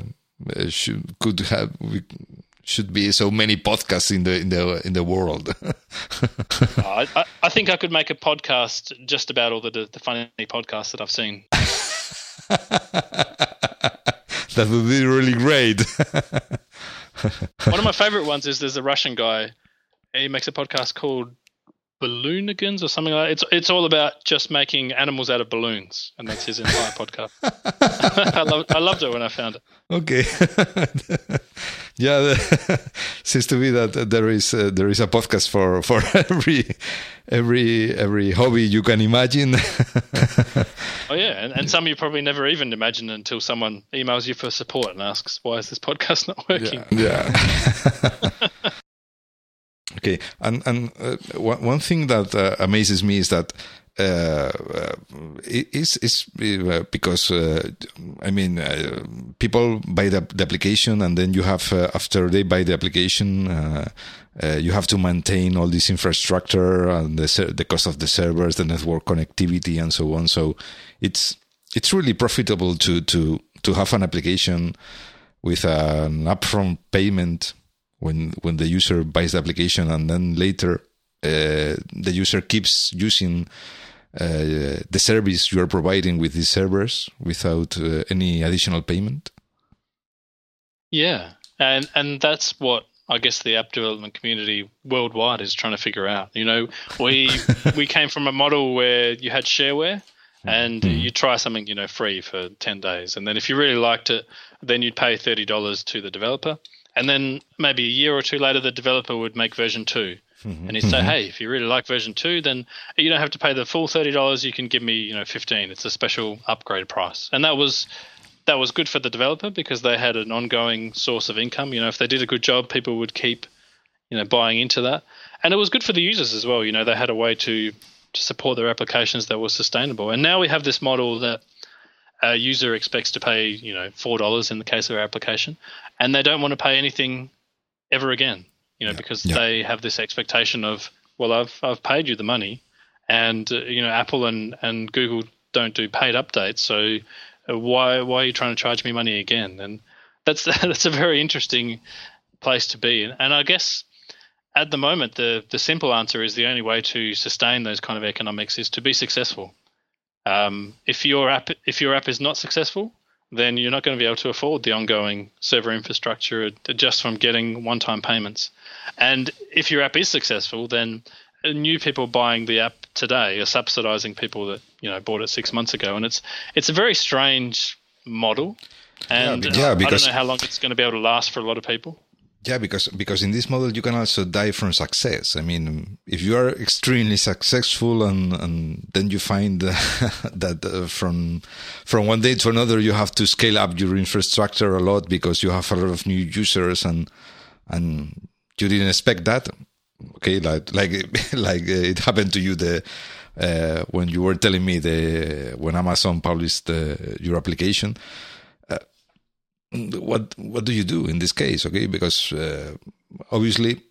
should be so many podcasts in the world. I think I could make a podcast just about all the funny podcasts that I've seen. That would be really great. One of my favorite ones is there's a Russian guy. He makes a podcast called Balloonigans or something like that. It's all about just making animals out of balloons, and that's his entire podcast. I loved it when I found it. Okay. Yeah, seems to be that there is a podcast for every hobby you can imagine. Oh yeah, and some you probably never even imagine until someone emails you for support and asks, "Why is this podcast not working?" Yeah. Okay, and one thing that amazes me is that it's because people buy the application, and then you have after they buy the application, you have to maintain all this infrastructure and the cost of the servers, the network connectivity, and so on. So it's really profitable to have an application with an upfront payment when the user buys the application, and then later the user keeps using the service you are providing with these servers without any additional payment. Yeah, and that's what I guess the app development community worldwide is trying to figure out. You know, we came from a model where you had shareware, and you try something, you know, free for 10 days, and then if you really liked it, then you'd pay $30 to the developer. And then maybe a year or two later, the developer would make version 2. And he'd say, hey, if you really like version 2, then you don't have to pay the full $30. You can give me, you know, $15. It's a special upgrade price. And that was good for the developer because they had an ongoing source of income. You know, if they did a good job, people would keep, you know, buying into that. And it was good for the users as well. You know, they had a way to support their applications that was sustainable. And now we have this model that a user expects to pay, you know, $4 in the case of our application, and they don't want to pay anything ever again, you know, because they have this expectation of, well, I've paid you the money, and you know, Apple and Google don't do paid updates, so why are you trying to charge me money again? And that's a very interesting place to be. And I guess at the moment, the simple answer is the only way to sustain those kind of economics is to be successful. If your app is not successful, then you're not going to be able to afford the ongoing server infrastructure just from getting one-time payments. And if your app is successful, then new people buying the app today are subsidizing people that, you know, bought it 6 months ago. And it's a very strange model. And I don't know how long it's going to be able to last for a lot of people. Yeah, because in this model you can also die from success. I mean, if you are extremely successful and then you find that from one day to another you have to scale up your infrastructure a lot because you have a lot of new users and you didn't expect that. Okay, like it happened to you when you were telling me when Amazon published your application. What do you do in this case? Okay, because obviously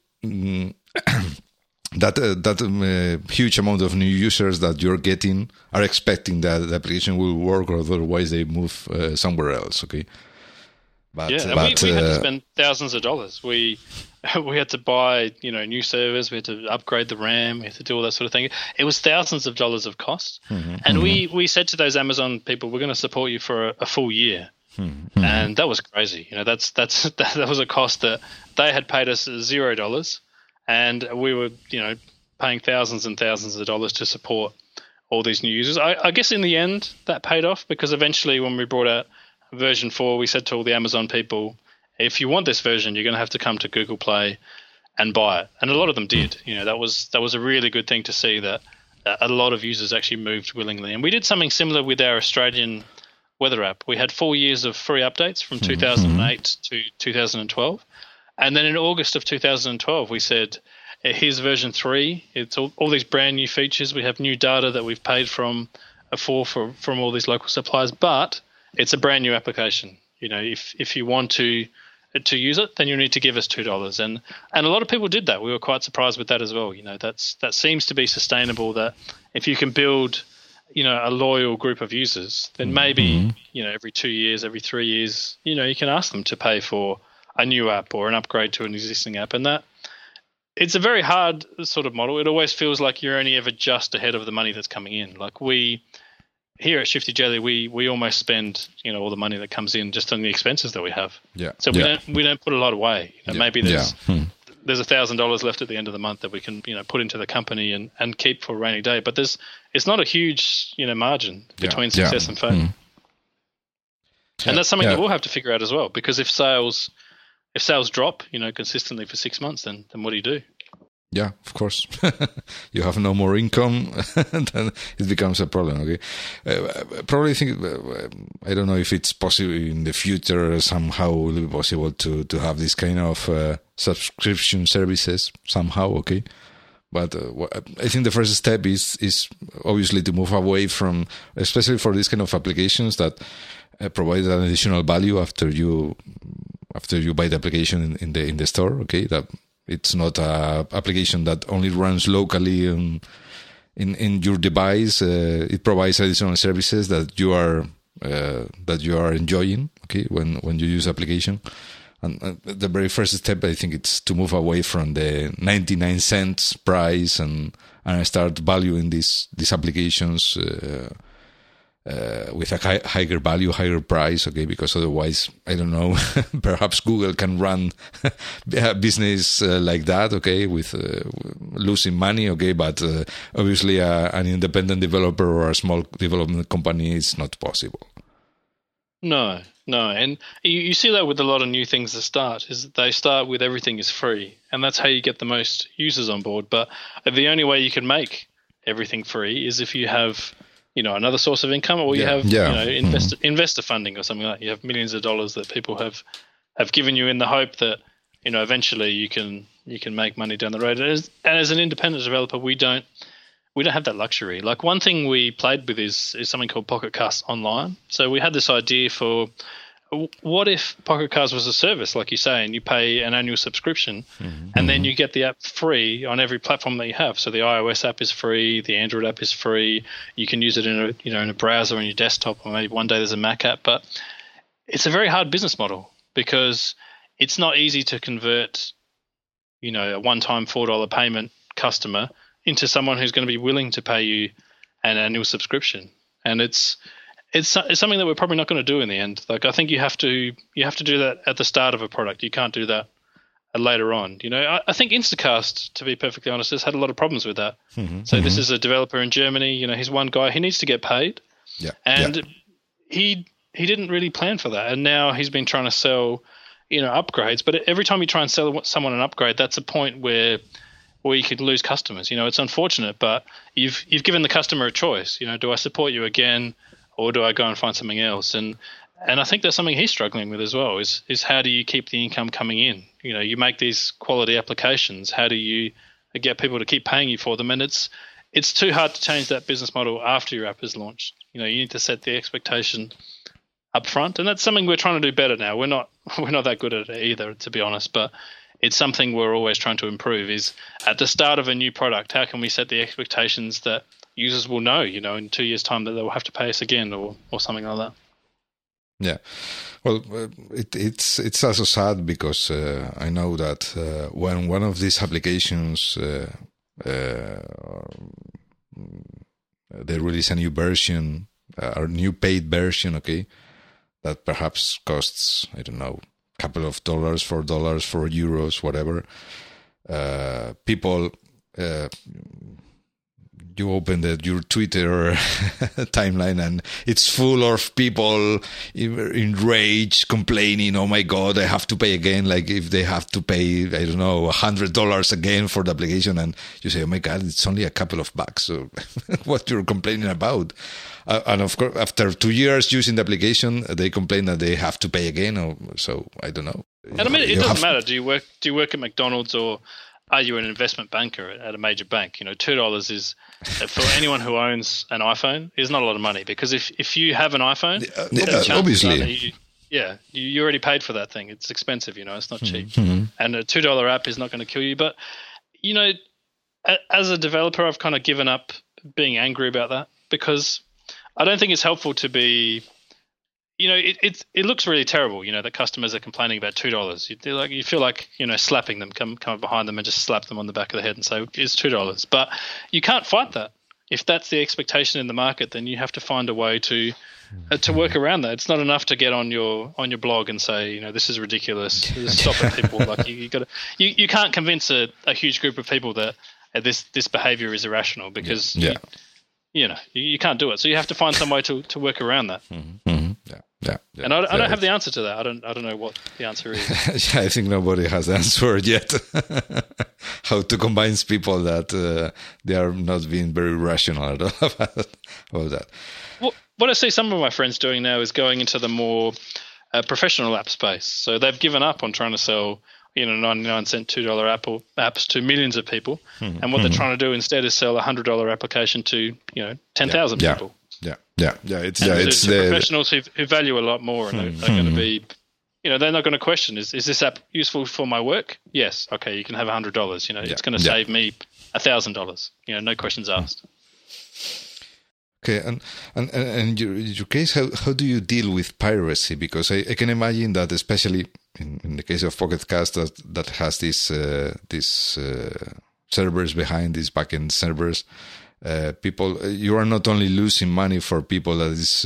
that huge amount of new users that you're getting are expecting that the application will work, or otherwise they move somewhere else. Okay, we had to spend thousands of dollars. We had to buy, you know, new servers. We had to upgrade the RAM. We had to do all that sort of thing. It was thousands of dollars of cost. And we said to those Amazon people, we're going to support you for a full year. And that was crazy. You know, that was a cost that they had paid us $0, and we were, you know, paying thousands and thousands of dollars to support all these new users. I guess in the end that paid off, because eventually when we brought out version 4, we said to all the Amazon people, if you want this version, you're going to have to come to Google Play and buy it. And a lot of them did. You know, that was a really good thing to see, that a lot of users actually moved willingly. And we did something similar with our Australian weather app. We had 4 years of free updates from 2008 to 2012. And then in August of 2012, we said, here's version 3. It's all these brand new features. We have new data that we've paid from all these local suppliers, but it's a brand new application. You know, if you want to use it, then you need to give us $2. And a lot of people did that. We were quite surprised with that as well. You know, that seems to be sustainable, that if you can build, you know, a loyal group of users, then maybe, you know, every 2 years, every 3 years, you know, you can ask them to pay for a new app or an upgrade to an existing app. And that, it's a very hard sort of model. It always feels like you're only ever just ahead of the money that's coming in. Like here at Shifty Jelly, we almost spend all the money that comes in just on the expenses that we have. Yeah. So we don't put a lot away. Maybe there's $1,000 left at the end of the month that we can put into the company and keep for a rainy day. But it's not a huge margin between success and failure. And that's something that we'll have to figure out as well, because if sales drop consistently for 6 months, then what do you do? Yeah, of course. You have no more income, then it becomes a problem. Okay, probably think I don't know if it's possible in the future. Somehow will be possible to have this kind of subscription services somehow. Okay, but I think the first step is obviously to move away from, especially for this kind of applications that provide an additional value after you buy the application in the store. Okay, that. It's not an application that only runs locally in your device. It provides additional services that you are enjoying. Okay, when you use application, and the very first step, I think, it's to move away from the 99 cents price and start valuing these applications with a higher value, higher price, okay? Because otherwise, I don't know, perhaps Google can run a business like that, okay, with losing money, okay? But obviously, an independent developer or a small development company is not possible. No, and you see that with a lot of new things that start. Is they start with everything is free, and that's how you get the most users on board. But the only way you can make everything free is if you have another source of income, or you have investor funding or something like that. You have millions of dollars that people have given you in the hope that eventually you can make money down the road. And as an independent developer, we don't have that luxury. Like, one thing we played with is something called Pocket Cast Online. So we had this idea for, what if Pocket Cast was a service, like you say, and you pay an annual subscription, and then you get the app free on every platform that you have. So the iOS app is free, the Android app is free. You can use it in a browser on your desktop, or maybe one day there's a Mac app. But it's a very hard business model, because it's not easy to convert, a one-time $4 payment customer into someone who's going to be willing to pay you an annual subscription. And it's something that we're probably not going to do in the end. Like, I think you have to do that at the start of a product. You can't do that later on. I think Instacast, to be perfectly honest, has had a lot of problems with that. This is a developer in Germany. He's one guy. He needs to get paid. Yeah. And he didn't really plan for that. And now he's been trying to sell, upgrades. But every time you try and sell someone an upgrade, that's a point where you could lose customers. It's unfortunate, but you've given the customer a choice. Do I support you again, or do I go and find something else? And I think that's something he's struggling with as well, is how do you keep the income coming in? You make these quality applications. How do you get people to keep paying you for them? And it's too hard to change that business model after your app is launched. You need to set the expectation up front. And that's something we're trying to do better now. We're not that good at it either, to be honest, but it's something we're always trying to improve, is at the start of a new product, how can we set the expectations that users will know, in 2 years' time, that they'll have to pay us again, or something like that. Yeah, well, it's also sad, because I know that when one of these applications they release a new version, or new paid version, okay, that perhaps costs, I don't know, a couple of dollars, $4, €4, whatever. People. You open your Twitter timeline, and it's full of people enraged, complaining, oh my God, I have to pay again. Like, if they have to pay, I don't know, $100 again for the application. And you say, oh my God, it's only a couple of bucks. So what you're complaining about? And of course, after 2 years using the application, they complain that they have to pay again. So I don't know. And I mean, it doesn't matter. Do you work at McDonald's, or are you an investment banker at a major bank? $2 is, for anyone who owns an iPhone, is not a lot of money, because if you have an iPhone, obviously, you already paid for that thing. It's expensive, it's not cheap. And a $2 app is not going to kill you. But as a developer, I've kind of given up being angry about that, because I don't think it's helpful to be. It looks really terrible, that customers are complaining about $2. You feel like, slapping them, come behind them and just slap them on the back of the head and say, it's $2. But you can't fight that. if that's the expectation in the market, then you have to find a way to work around that. It's not enough to get on your blog and say, this is ridiculous. Stop it, people. Like you can't convince a huge group of people that this behavior is irrational because you can't do it. So you have to find some way to work around that. Yeah. And I don't have the answer to that. I don't know what the answer is. I think nobody has answered yet. How to convince people that they are not being very rational at all about that. What I see some of my friends doing now is going into the more professional app space. So they've given up on trying to sell 99-cent $2 apps to millions of people, and what they're trying to do instead is sell a $100 application to 10,000 people. It's the professionals who value a lot more, and they're going to be, they're not going to question is this app useful for my work? Yes, okay, you can have $100. It's going to save me $1,000. No questions asked. Okay, and in your case, how do you deal with piracy? Because I can imagine that, especially in the case of Pocket Cast, that has these servers behind these backend servers. You are not only losing money for people that is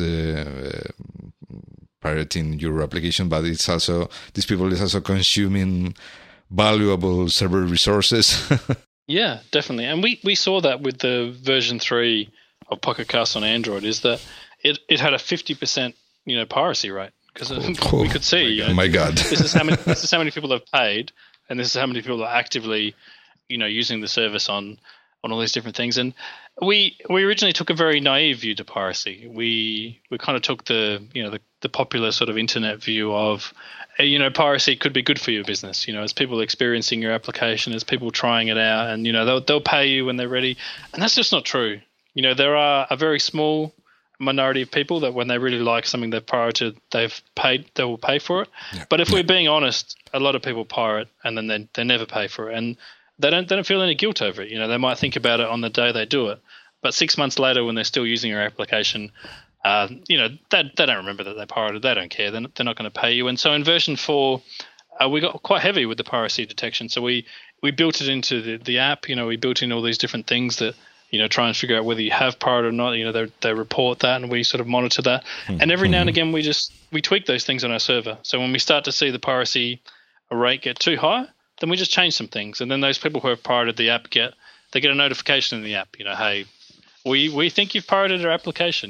pirating your application, but it's also these people is also consuming valuable server resources. Yeah, definitely, and we saw that with the version 3 of Pocket Cast on Android, is that it had a 50% piracy rate, because we could see my God. this is how many people have paid, and this is how many people are actively using the service on all these different things. And we originally took a very naive view to piracy. We kind of took the popular sort of internet view of piracy could be good for your business, as people experiencing your application, as people trying it out, and they'll pay you when they're ready. And that's just not true. There are a very small minority of people that when they really like something they've pirated, they will pay for it. Yeah. But if we're being honest, a lot of people pirate and then they never pay for it, and they don't feel any guilt over it. They might think about it on the day they do it, but 6 months later when they're still using your application, they don't remember that they pirated. They don't care. They're not going to pay you. And so in version 4, we got quite heavy with the piracy detection. So we built it into the app. We built in all these different things that try and figure out whether you have pirated or not. They report that, and we sort of monitor that. And every now and again, we tweak those things on our server. So when we start to see the piracy rate get too high, then we just change some things. And then those people who have pirated the app get a notification in the app. Hey, we think you've pirated our application.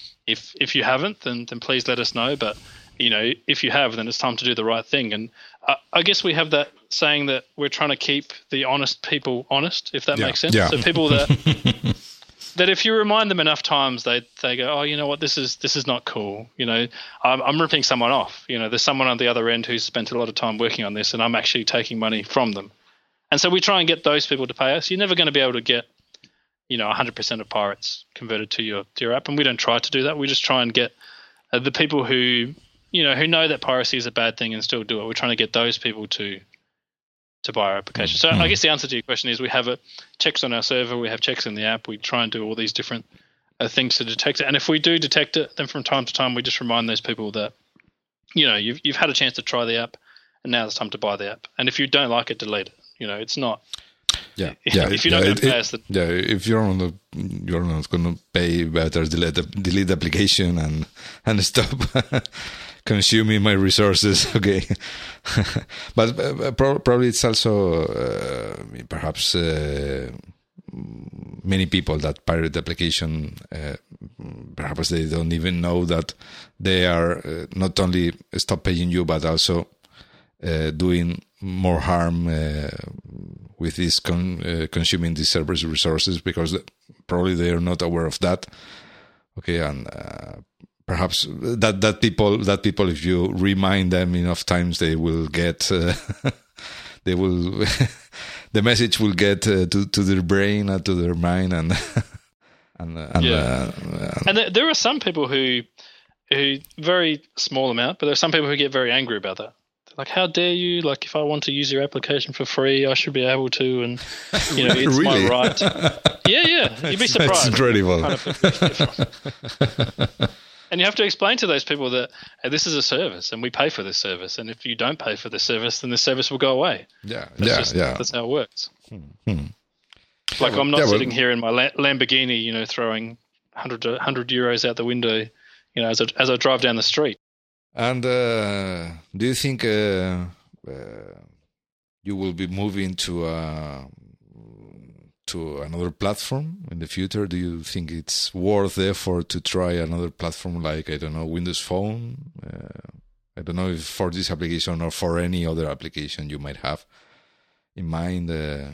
If you haven't, then please let us know. But if you have, then it's time to do the right thing. And I guess we have that saying that we're trying to keep the honest people honest, if that makes sense. Yeah. So people that if you remind them enough times, they go, oh, you know what, this is not cool. I'm ripping someone off. There's someone on the other end who's spent a lot of time working on this, and I'm actually taking money from them. And so we try and get those people to pay us. You're never going to be able to get 100% of pirates converted to your app, and we don't try to do that. We just try and get the people who know that piracy is a bad thing and still do it. We're trying to get those people to buy our application. So I guess the answer to your question is we have checks on our server, we have checks in the app, we try and do all these different things to detect it. And if we do detect it, then from time to time we just remind those people that you've had a chance to try the app, and now it's time to buy the app. And if you don't like it, delete it. It's not. Yeah. If you're not going to pay us, if you're not going to pay, better delete the application and stop consuming my resources. Okay, but probably it's also perhaps many people that pirate the application. Perhaps they don't even know that they are not only stop paying you, but also doing more harm with this consuming these servers resources, because probably they are not aware of that. Okay, and perhaps that people, if you remind them enough times, they will get they will the message will get to their brain and to their mind, and there are some people who very small amount, but there are some people who get very angry about that. Like, how dare you? Like, if I want to use your application for free, I should be able to, and it's really? my right. Yeah, you'd be surprised. That's incredible. And you have to explain to those people that this is a service, and we pay for this service. And if you don't pay for this service, then the service will go away. That's how it works. Like I'm not sitting here in my Lamborghini, throwing 100 euros out the window, as I drive down the street. And do you think you will be moving to another platform in the future? Do you think it's worth the effort to try another platform like, I don't know, Windows Phone? I don't know if for this application or for any other application you might have in mind.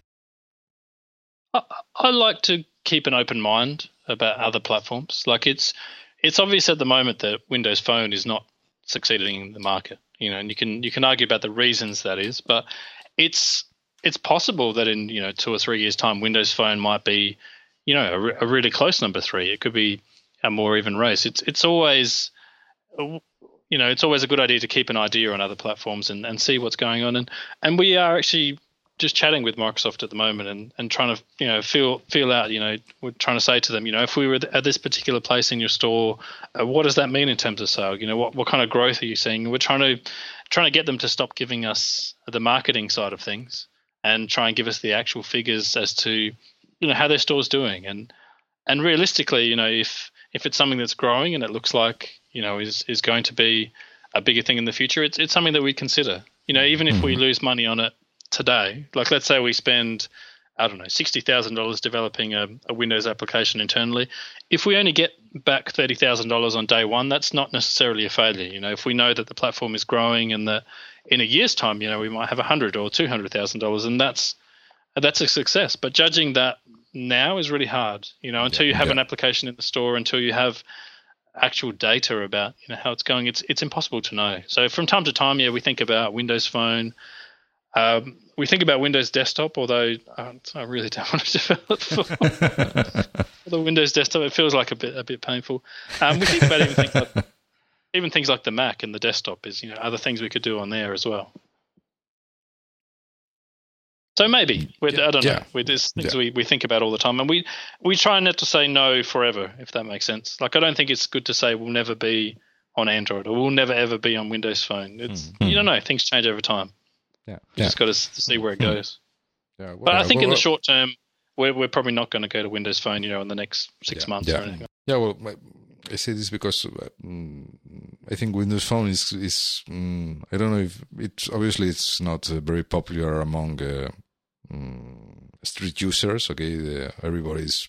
I like to keep an open mind about other platforms. Like it's obvious at the moment that Windows Phone is not succeeding in the market, and you can argue about the reasons that is, but it's possible that in 2 or 3 years' time, Windows Phone might be a really close number 3. It could be a more even race. It's always it's always a good idea to keep an idea on other platforms and see what's going on. And we are actually just chatting with Microsoft at the moment and trying to feel out. We're trying to say to them, if we were at this particular place in your store, what does that mean in terms of sale? What kind of growth are you seeing? We're trying to get them to stop giving us the marketing side of things and try and give us the actual figures as to how their store's doing. And realistically, if it's something that's growing and it looks like is going to be a bigger thing in the future, it's something that we consider. Even if we lose money on it today, like let's say we spend, I don't know, $60,000 developing a Windows application internally. If we only get back $30,000 on day one, that's not necessarily a failure. If we know that the platform is growing and that in a year's time, we might have $100,000 or $200,000, and that's a success. But judging that now is really hard. Until you have an application in the store, until you have actual data about how it's going, it's impossible to know. So from time to time, we think about Windows Phone. We think about Windows Desktop, although I really don't want to develop for the Windows Desktop. It feels like a bit painful. We think about even things like the Mac and the desktop is other things we could do on there as well. So maybe I don't know. There's things we think about all the time, and we try not to say no forever, if that makes sense. Like I don't think it's good to say we'll never be on Android or we'll never ever be on Windows Phone. It's you don't know. Things change over time. Yeah, you just got to see where it goes. Yeah, but I think in the short term, we're probably not going to go to Windows Phone, in the next 6 months or anything. Yeah, well, I say this because I think Windows Phone is I don't know if it's not very popular among street users. Okay, everybody's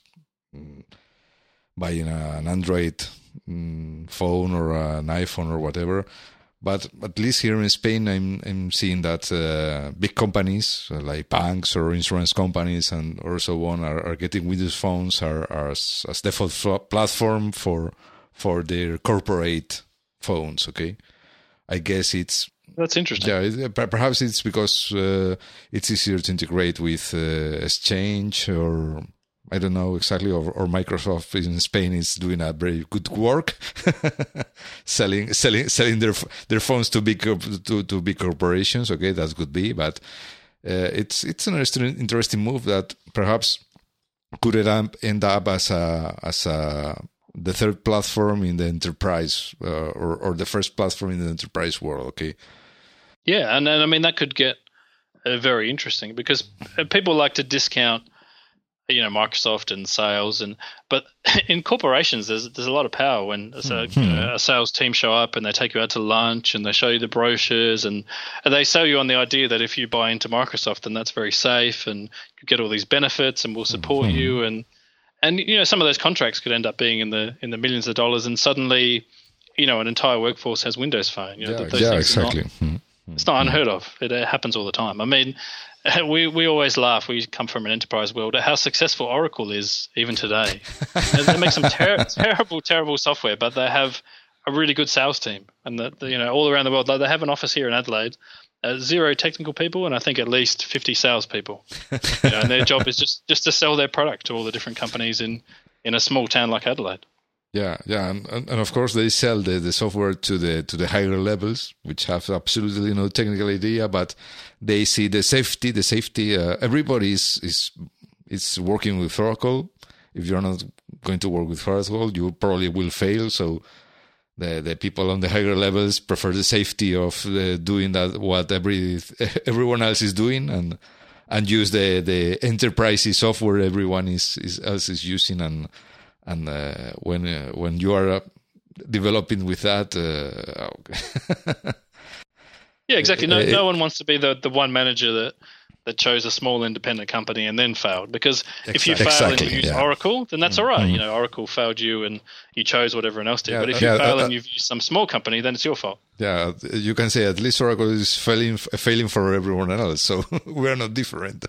buying an Android phone or an iPhone or whatever. But at least here in Spain, I'm seeing that big companies like banks or insurance companies or so on are getting Windows phones as default platform for their corporate phones. Okay, I guess that's interesting. Yeah, perhaps it's because it's easier to integrate with Exchange or I don't know exactly, or Microsoft in Spain is doing a very good work, selling their phones to big corporations. Okay, that could be, but it's an interesting move that perhaps could end up as the third platform in the enterprise or the first platform in the enterprise world. Okay. Yeah, and I mean that could get very interesting because people like to discount Microsoft and sales, but in corporations there's a lot of power when a sales team show up and they take you out to lunch and they show you the brochures and they sell you on the idea that if you buy into Microsoft then that's very safe and you get all these benefits and we'll support you and some of those contracts could end up being in the millions of dollars and suddenly an entire workforce has Windows Phone. Exactly. It's not unheard of. It happens all the time. I mean, we always laugh. We come from an enterprise world at how successful Oracle is even today. They make some terrible software, but they have a really good sales team, and all around the world. Like they have an office here in Adelaide, 0 technical people, and I think at least 50 salespeople. And their job is just to sell their product to all the different companies in a small town like Adelaide. Yeah, and of course they sell the software to the higher levels, which have absolutely no technical idea, but they see the safety. Everybody is working with Oracle. If you're not going to work with Oracle, you probably will fail. So the people on the higher levels prefer the safety of doing that what everyone else is doing, and use the enterprise software everyone else is using, and when you are developing with that, yeah, exactly. No one wants to be the one manager that chose a small independent company and then failed, because if you fail and you use Oracle, then that's all right. You know, Oracle failed you and you chose what everyone else did. But if you fail and you've used some small company, then it's your fault. Yeah, you can say at least Oracle is failing for everyone else, so we're not different.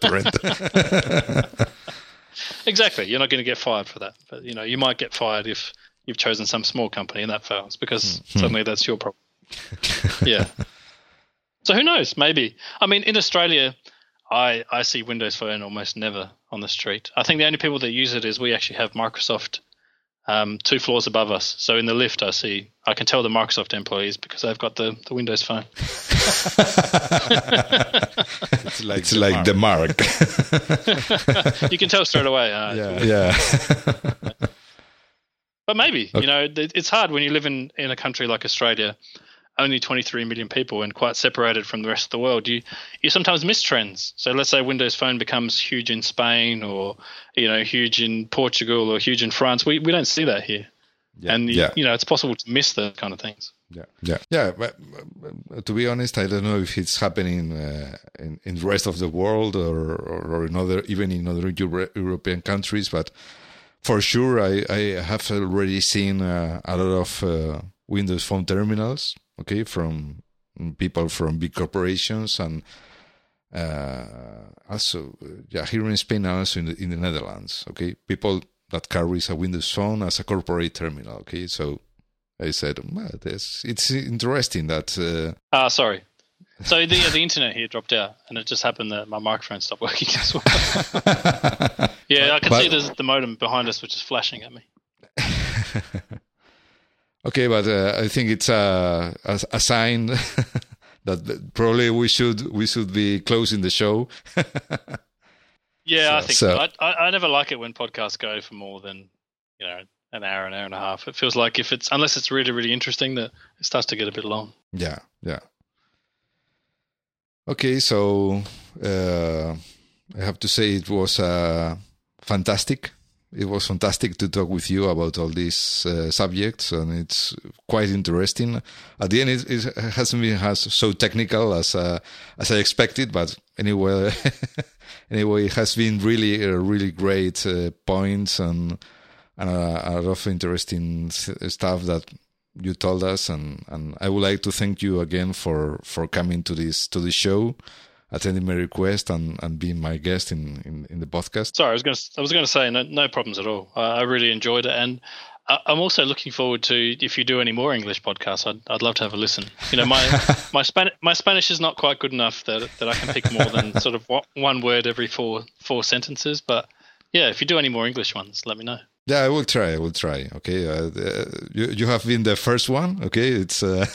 Exactly. You're not going to get fired for that. But, you know, you might get fired if you've chosen some small company and that fails, because suddenly that's your problem. Yeah. So who knows? Maybe. I mean, in Australia, I see Windows Phone almost never on the street. I think the only people that use it is we actually have Microsoft 2 floors above us. So in the lift, I can tell the Microsoft employees because they've got the Windows Phone. It's like the mark. You can tell straight away. Yeah. But maybe, you know, it's hard when you live in a country like Australia, only 23 million people and quite separated from the rest of the world. You sometimes miss trends. So let's say Windows Phone becomes huge in Spain, or, you know, huge in Portugal, or huge in France. We don't see that here. Yeah. And, you know, it's possible to miss those kind of things. Yeah. But to be honest, I don't know if it's happening in the rest of the world or in other European countries, but for sure, I have already seen a lot of Windows Phone terminals, okay, from people from big corporations, and also, here in Spain and also in the Netherlands, okay, people that carries a Windows Phone as a corporate terminal, okay. So I said, well, it's interesting that. Sorry. So the internet here dropped out, and it just happened that my microphone stopped working as well. Yeah, I can see the modem behind us, which is flashing at me. Okay, but I think it's a sign that probably we should be closing the show. Yeah, I think so. I never like it when podcasts go for more than, you know, an hour and a half. It feels like unless it's really, really interesting, that it starts to get a bit long. Yeah. Okay, so I have to say it was fantastic. It was fantastic to talk with you about all these subjects, and it's quite interesting. At the end, it hasn't been so technical as I expected, but anyway, it has been really great points and a lot of interesting stuff that you told us, and I would like to thank you again for coming to this show, attending my request, and being my guest in the podcast. Sorry, I was going to say no problems at all. I really enjoyed it, and I'm also looking forward to, if you do any more English podcasts, I'd love to have a listen. You know, my Spanish is not quite good enough that I can pick more than sort of one word every four sentences. But yeah, if you do any more English ones, let me know. Yeah, I will try. Okay, you have been the first one. Okay, it's I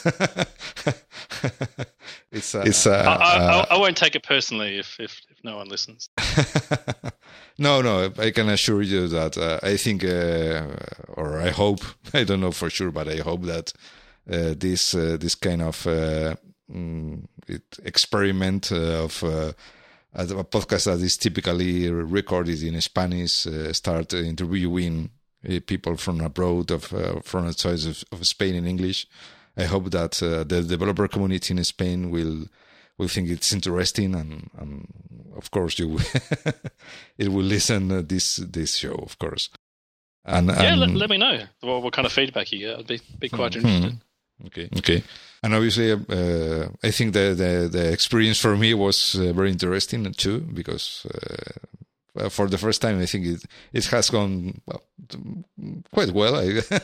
won't take it personally if no one listens. No, I can assure you that I think, or I hope, I don't know for sure, but I hope that this kind of experiment of a podcast that is typically recorded in Spanish, start interviewing people from abroad, from outside of Spain in English. I hope that the developer community in Spain will think it's interesting, and of course it will listen this show, of course. And let me know what kind of feedback you get. I'd be quite interested. Okay. And obviously, I think the experience for me was very interesting too, because for the first time, I think it has gone quite well.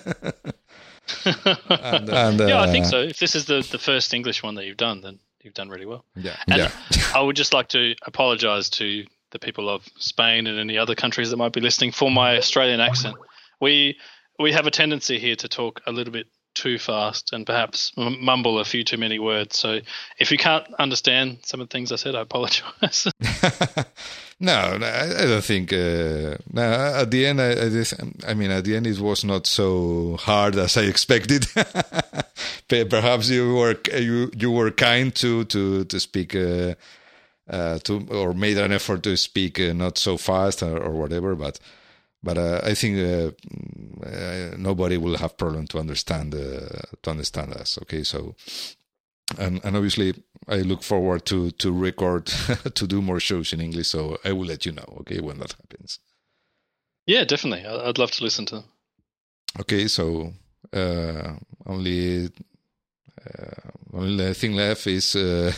Yeah, I think so. If this is the first English one that you've done, then you've done really well. Yeah. I would just like to apologise to the people of Spain and any other countries that might be listening for my Australian accent. We have a tendency here to talk a little bit too fast and perhaps mumble a few too many words. So if you can't understand some of the things I said, I apologize. No, I don't think. No, at the end, at the end, it was not so hard as I expected. Perhaps you were kind to speak or made an effort to speak not so fast or whatever, but I think nobody will have problem to understand us. Okay, so and obviously I look forward to record to do more shows in English. So I will let you know. Okay, when that happens. Yeah, definitely. I'd love to listen to them. Okay, so only thing left is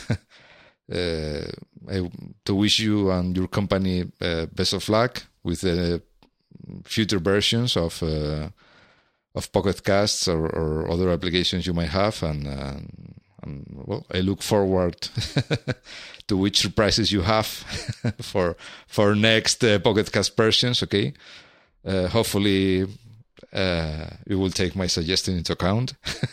to wish you and your company best of luck with the future versions of Pocket Casts or other applications you might have, and well, I look forward to which surprises you have for next Pocket Cast versions. Okay, hopefully you will take my suggestion into account.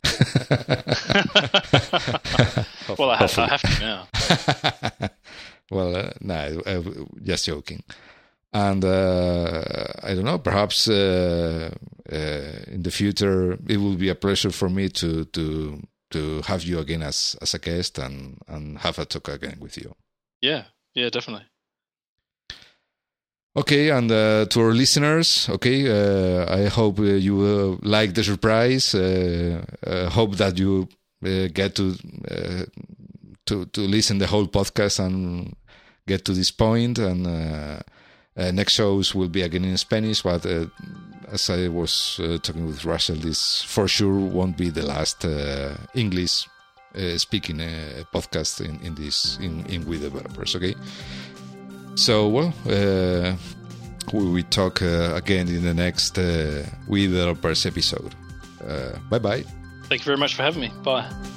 Well, I have to now. Well, no, just joking. And I don't know, perhaps in the future it will be a pleasure for me to have you again as a guest and have a talk again with you. Yeah, definitely. Okay, and to our listeners, okay, I hope you will like the surprise. Hope that you get to listen the whole podcast and get to this point. And next shows will be again in Spanish, but as I was talking with Russell, this for sure won't be the last English speaking podcast in We Developers. Okay. So, well, we will talk again in the next We Developers episode. Bye-bye. Thank you very much for having me. Bye.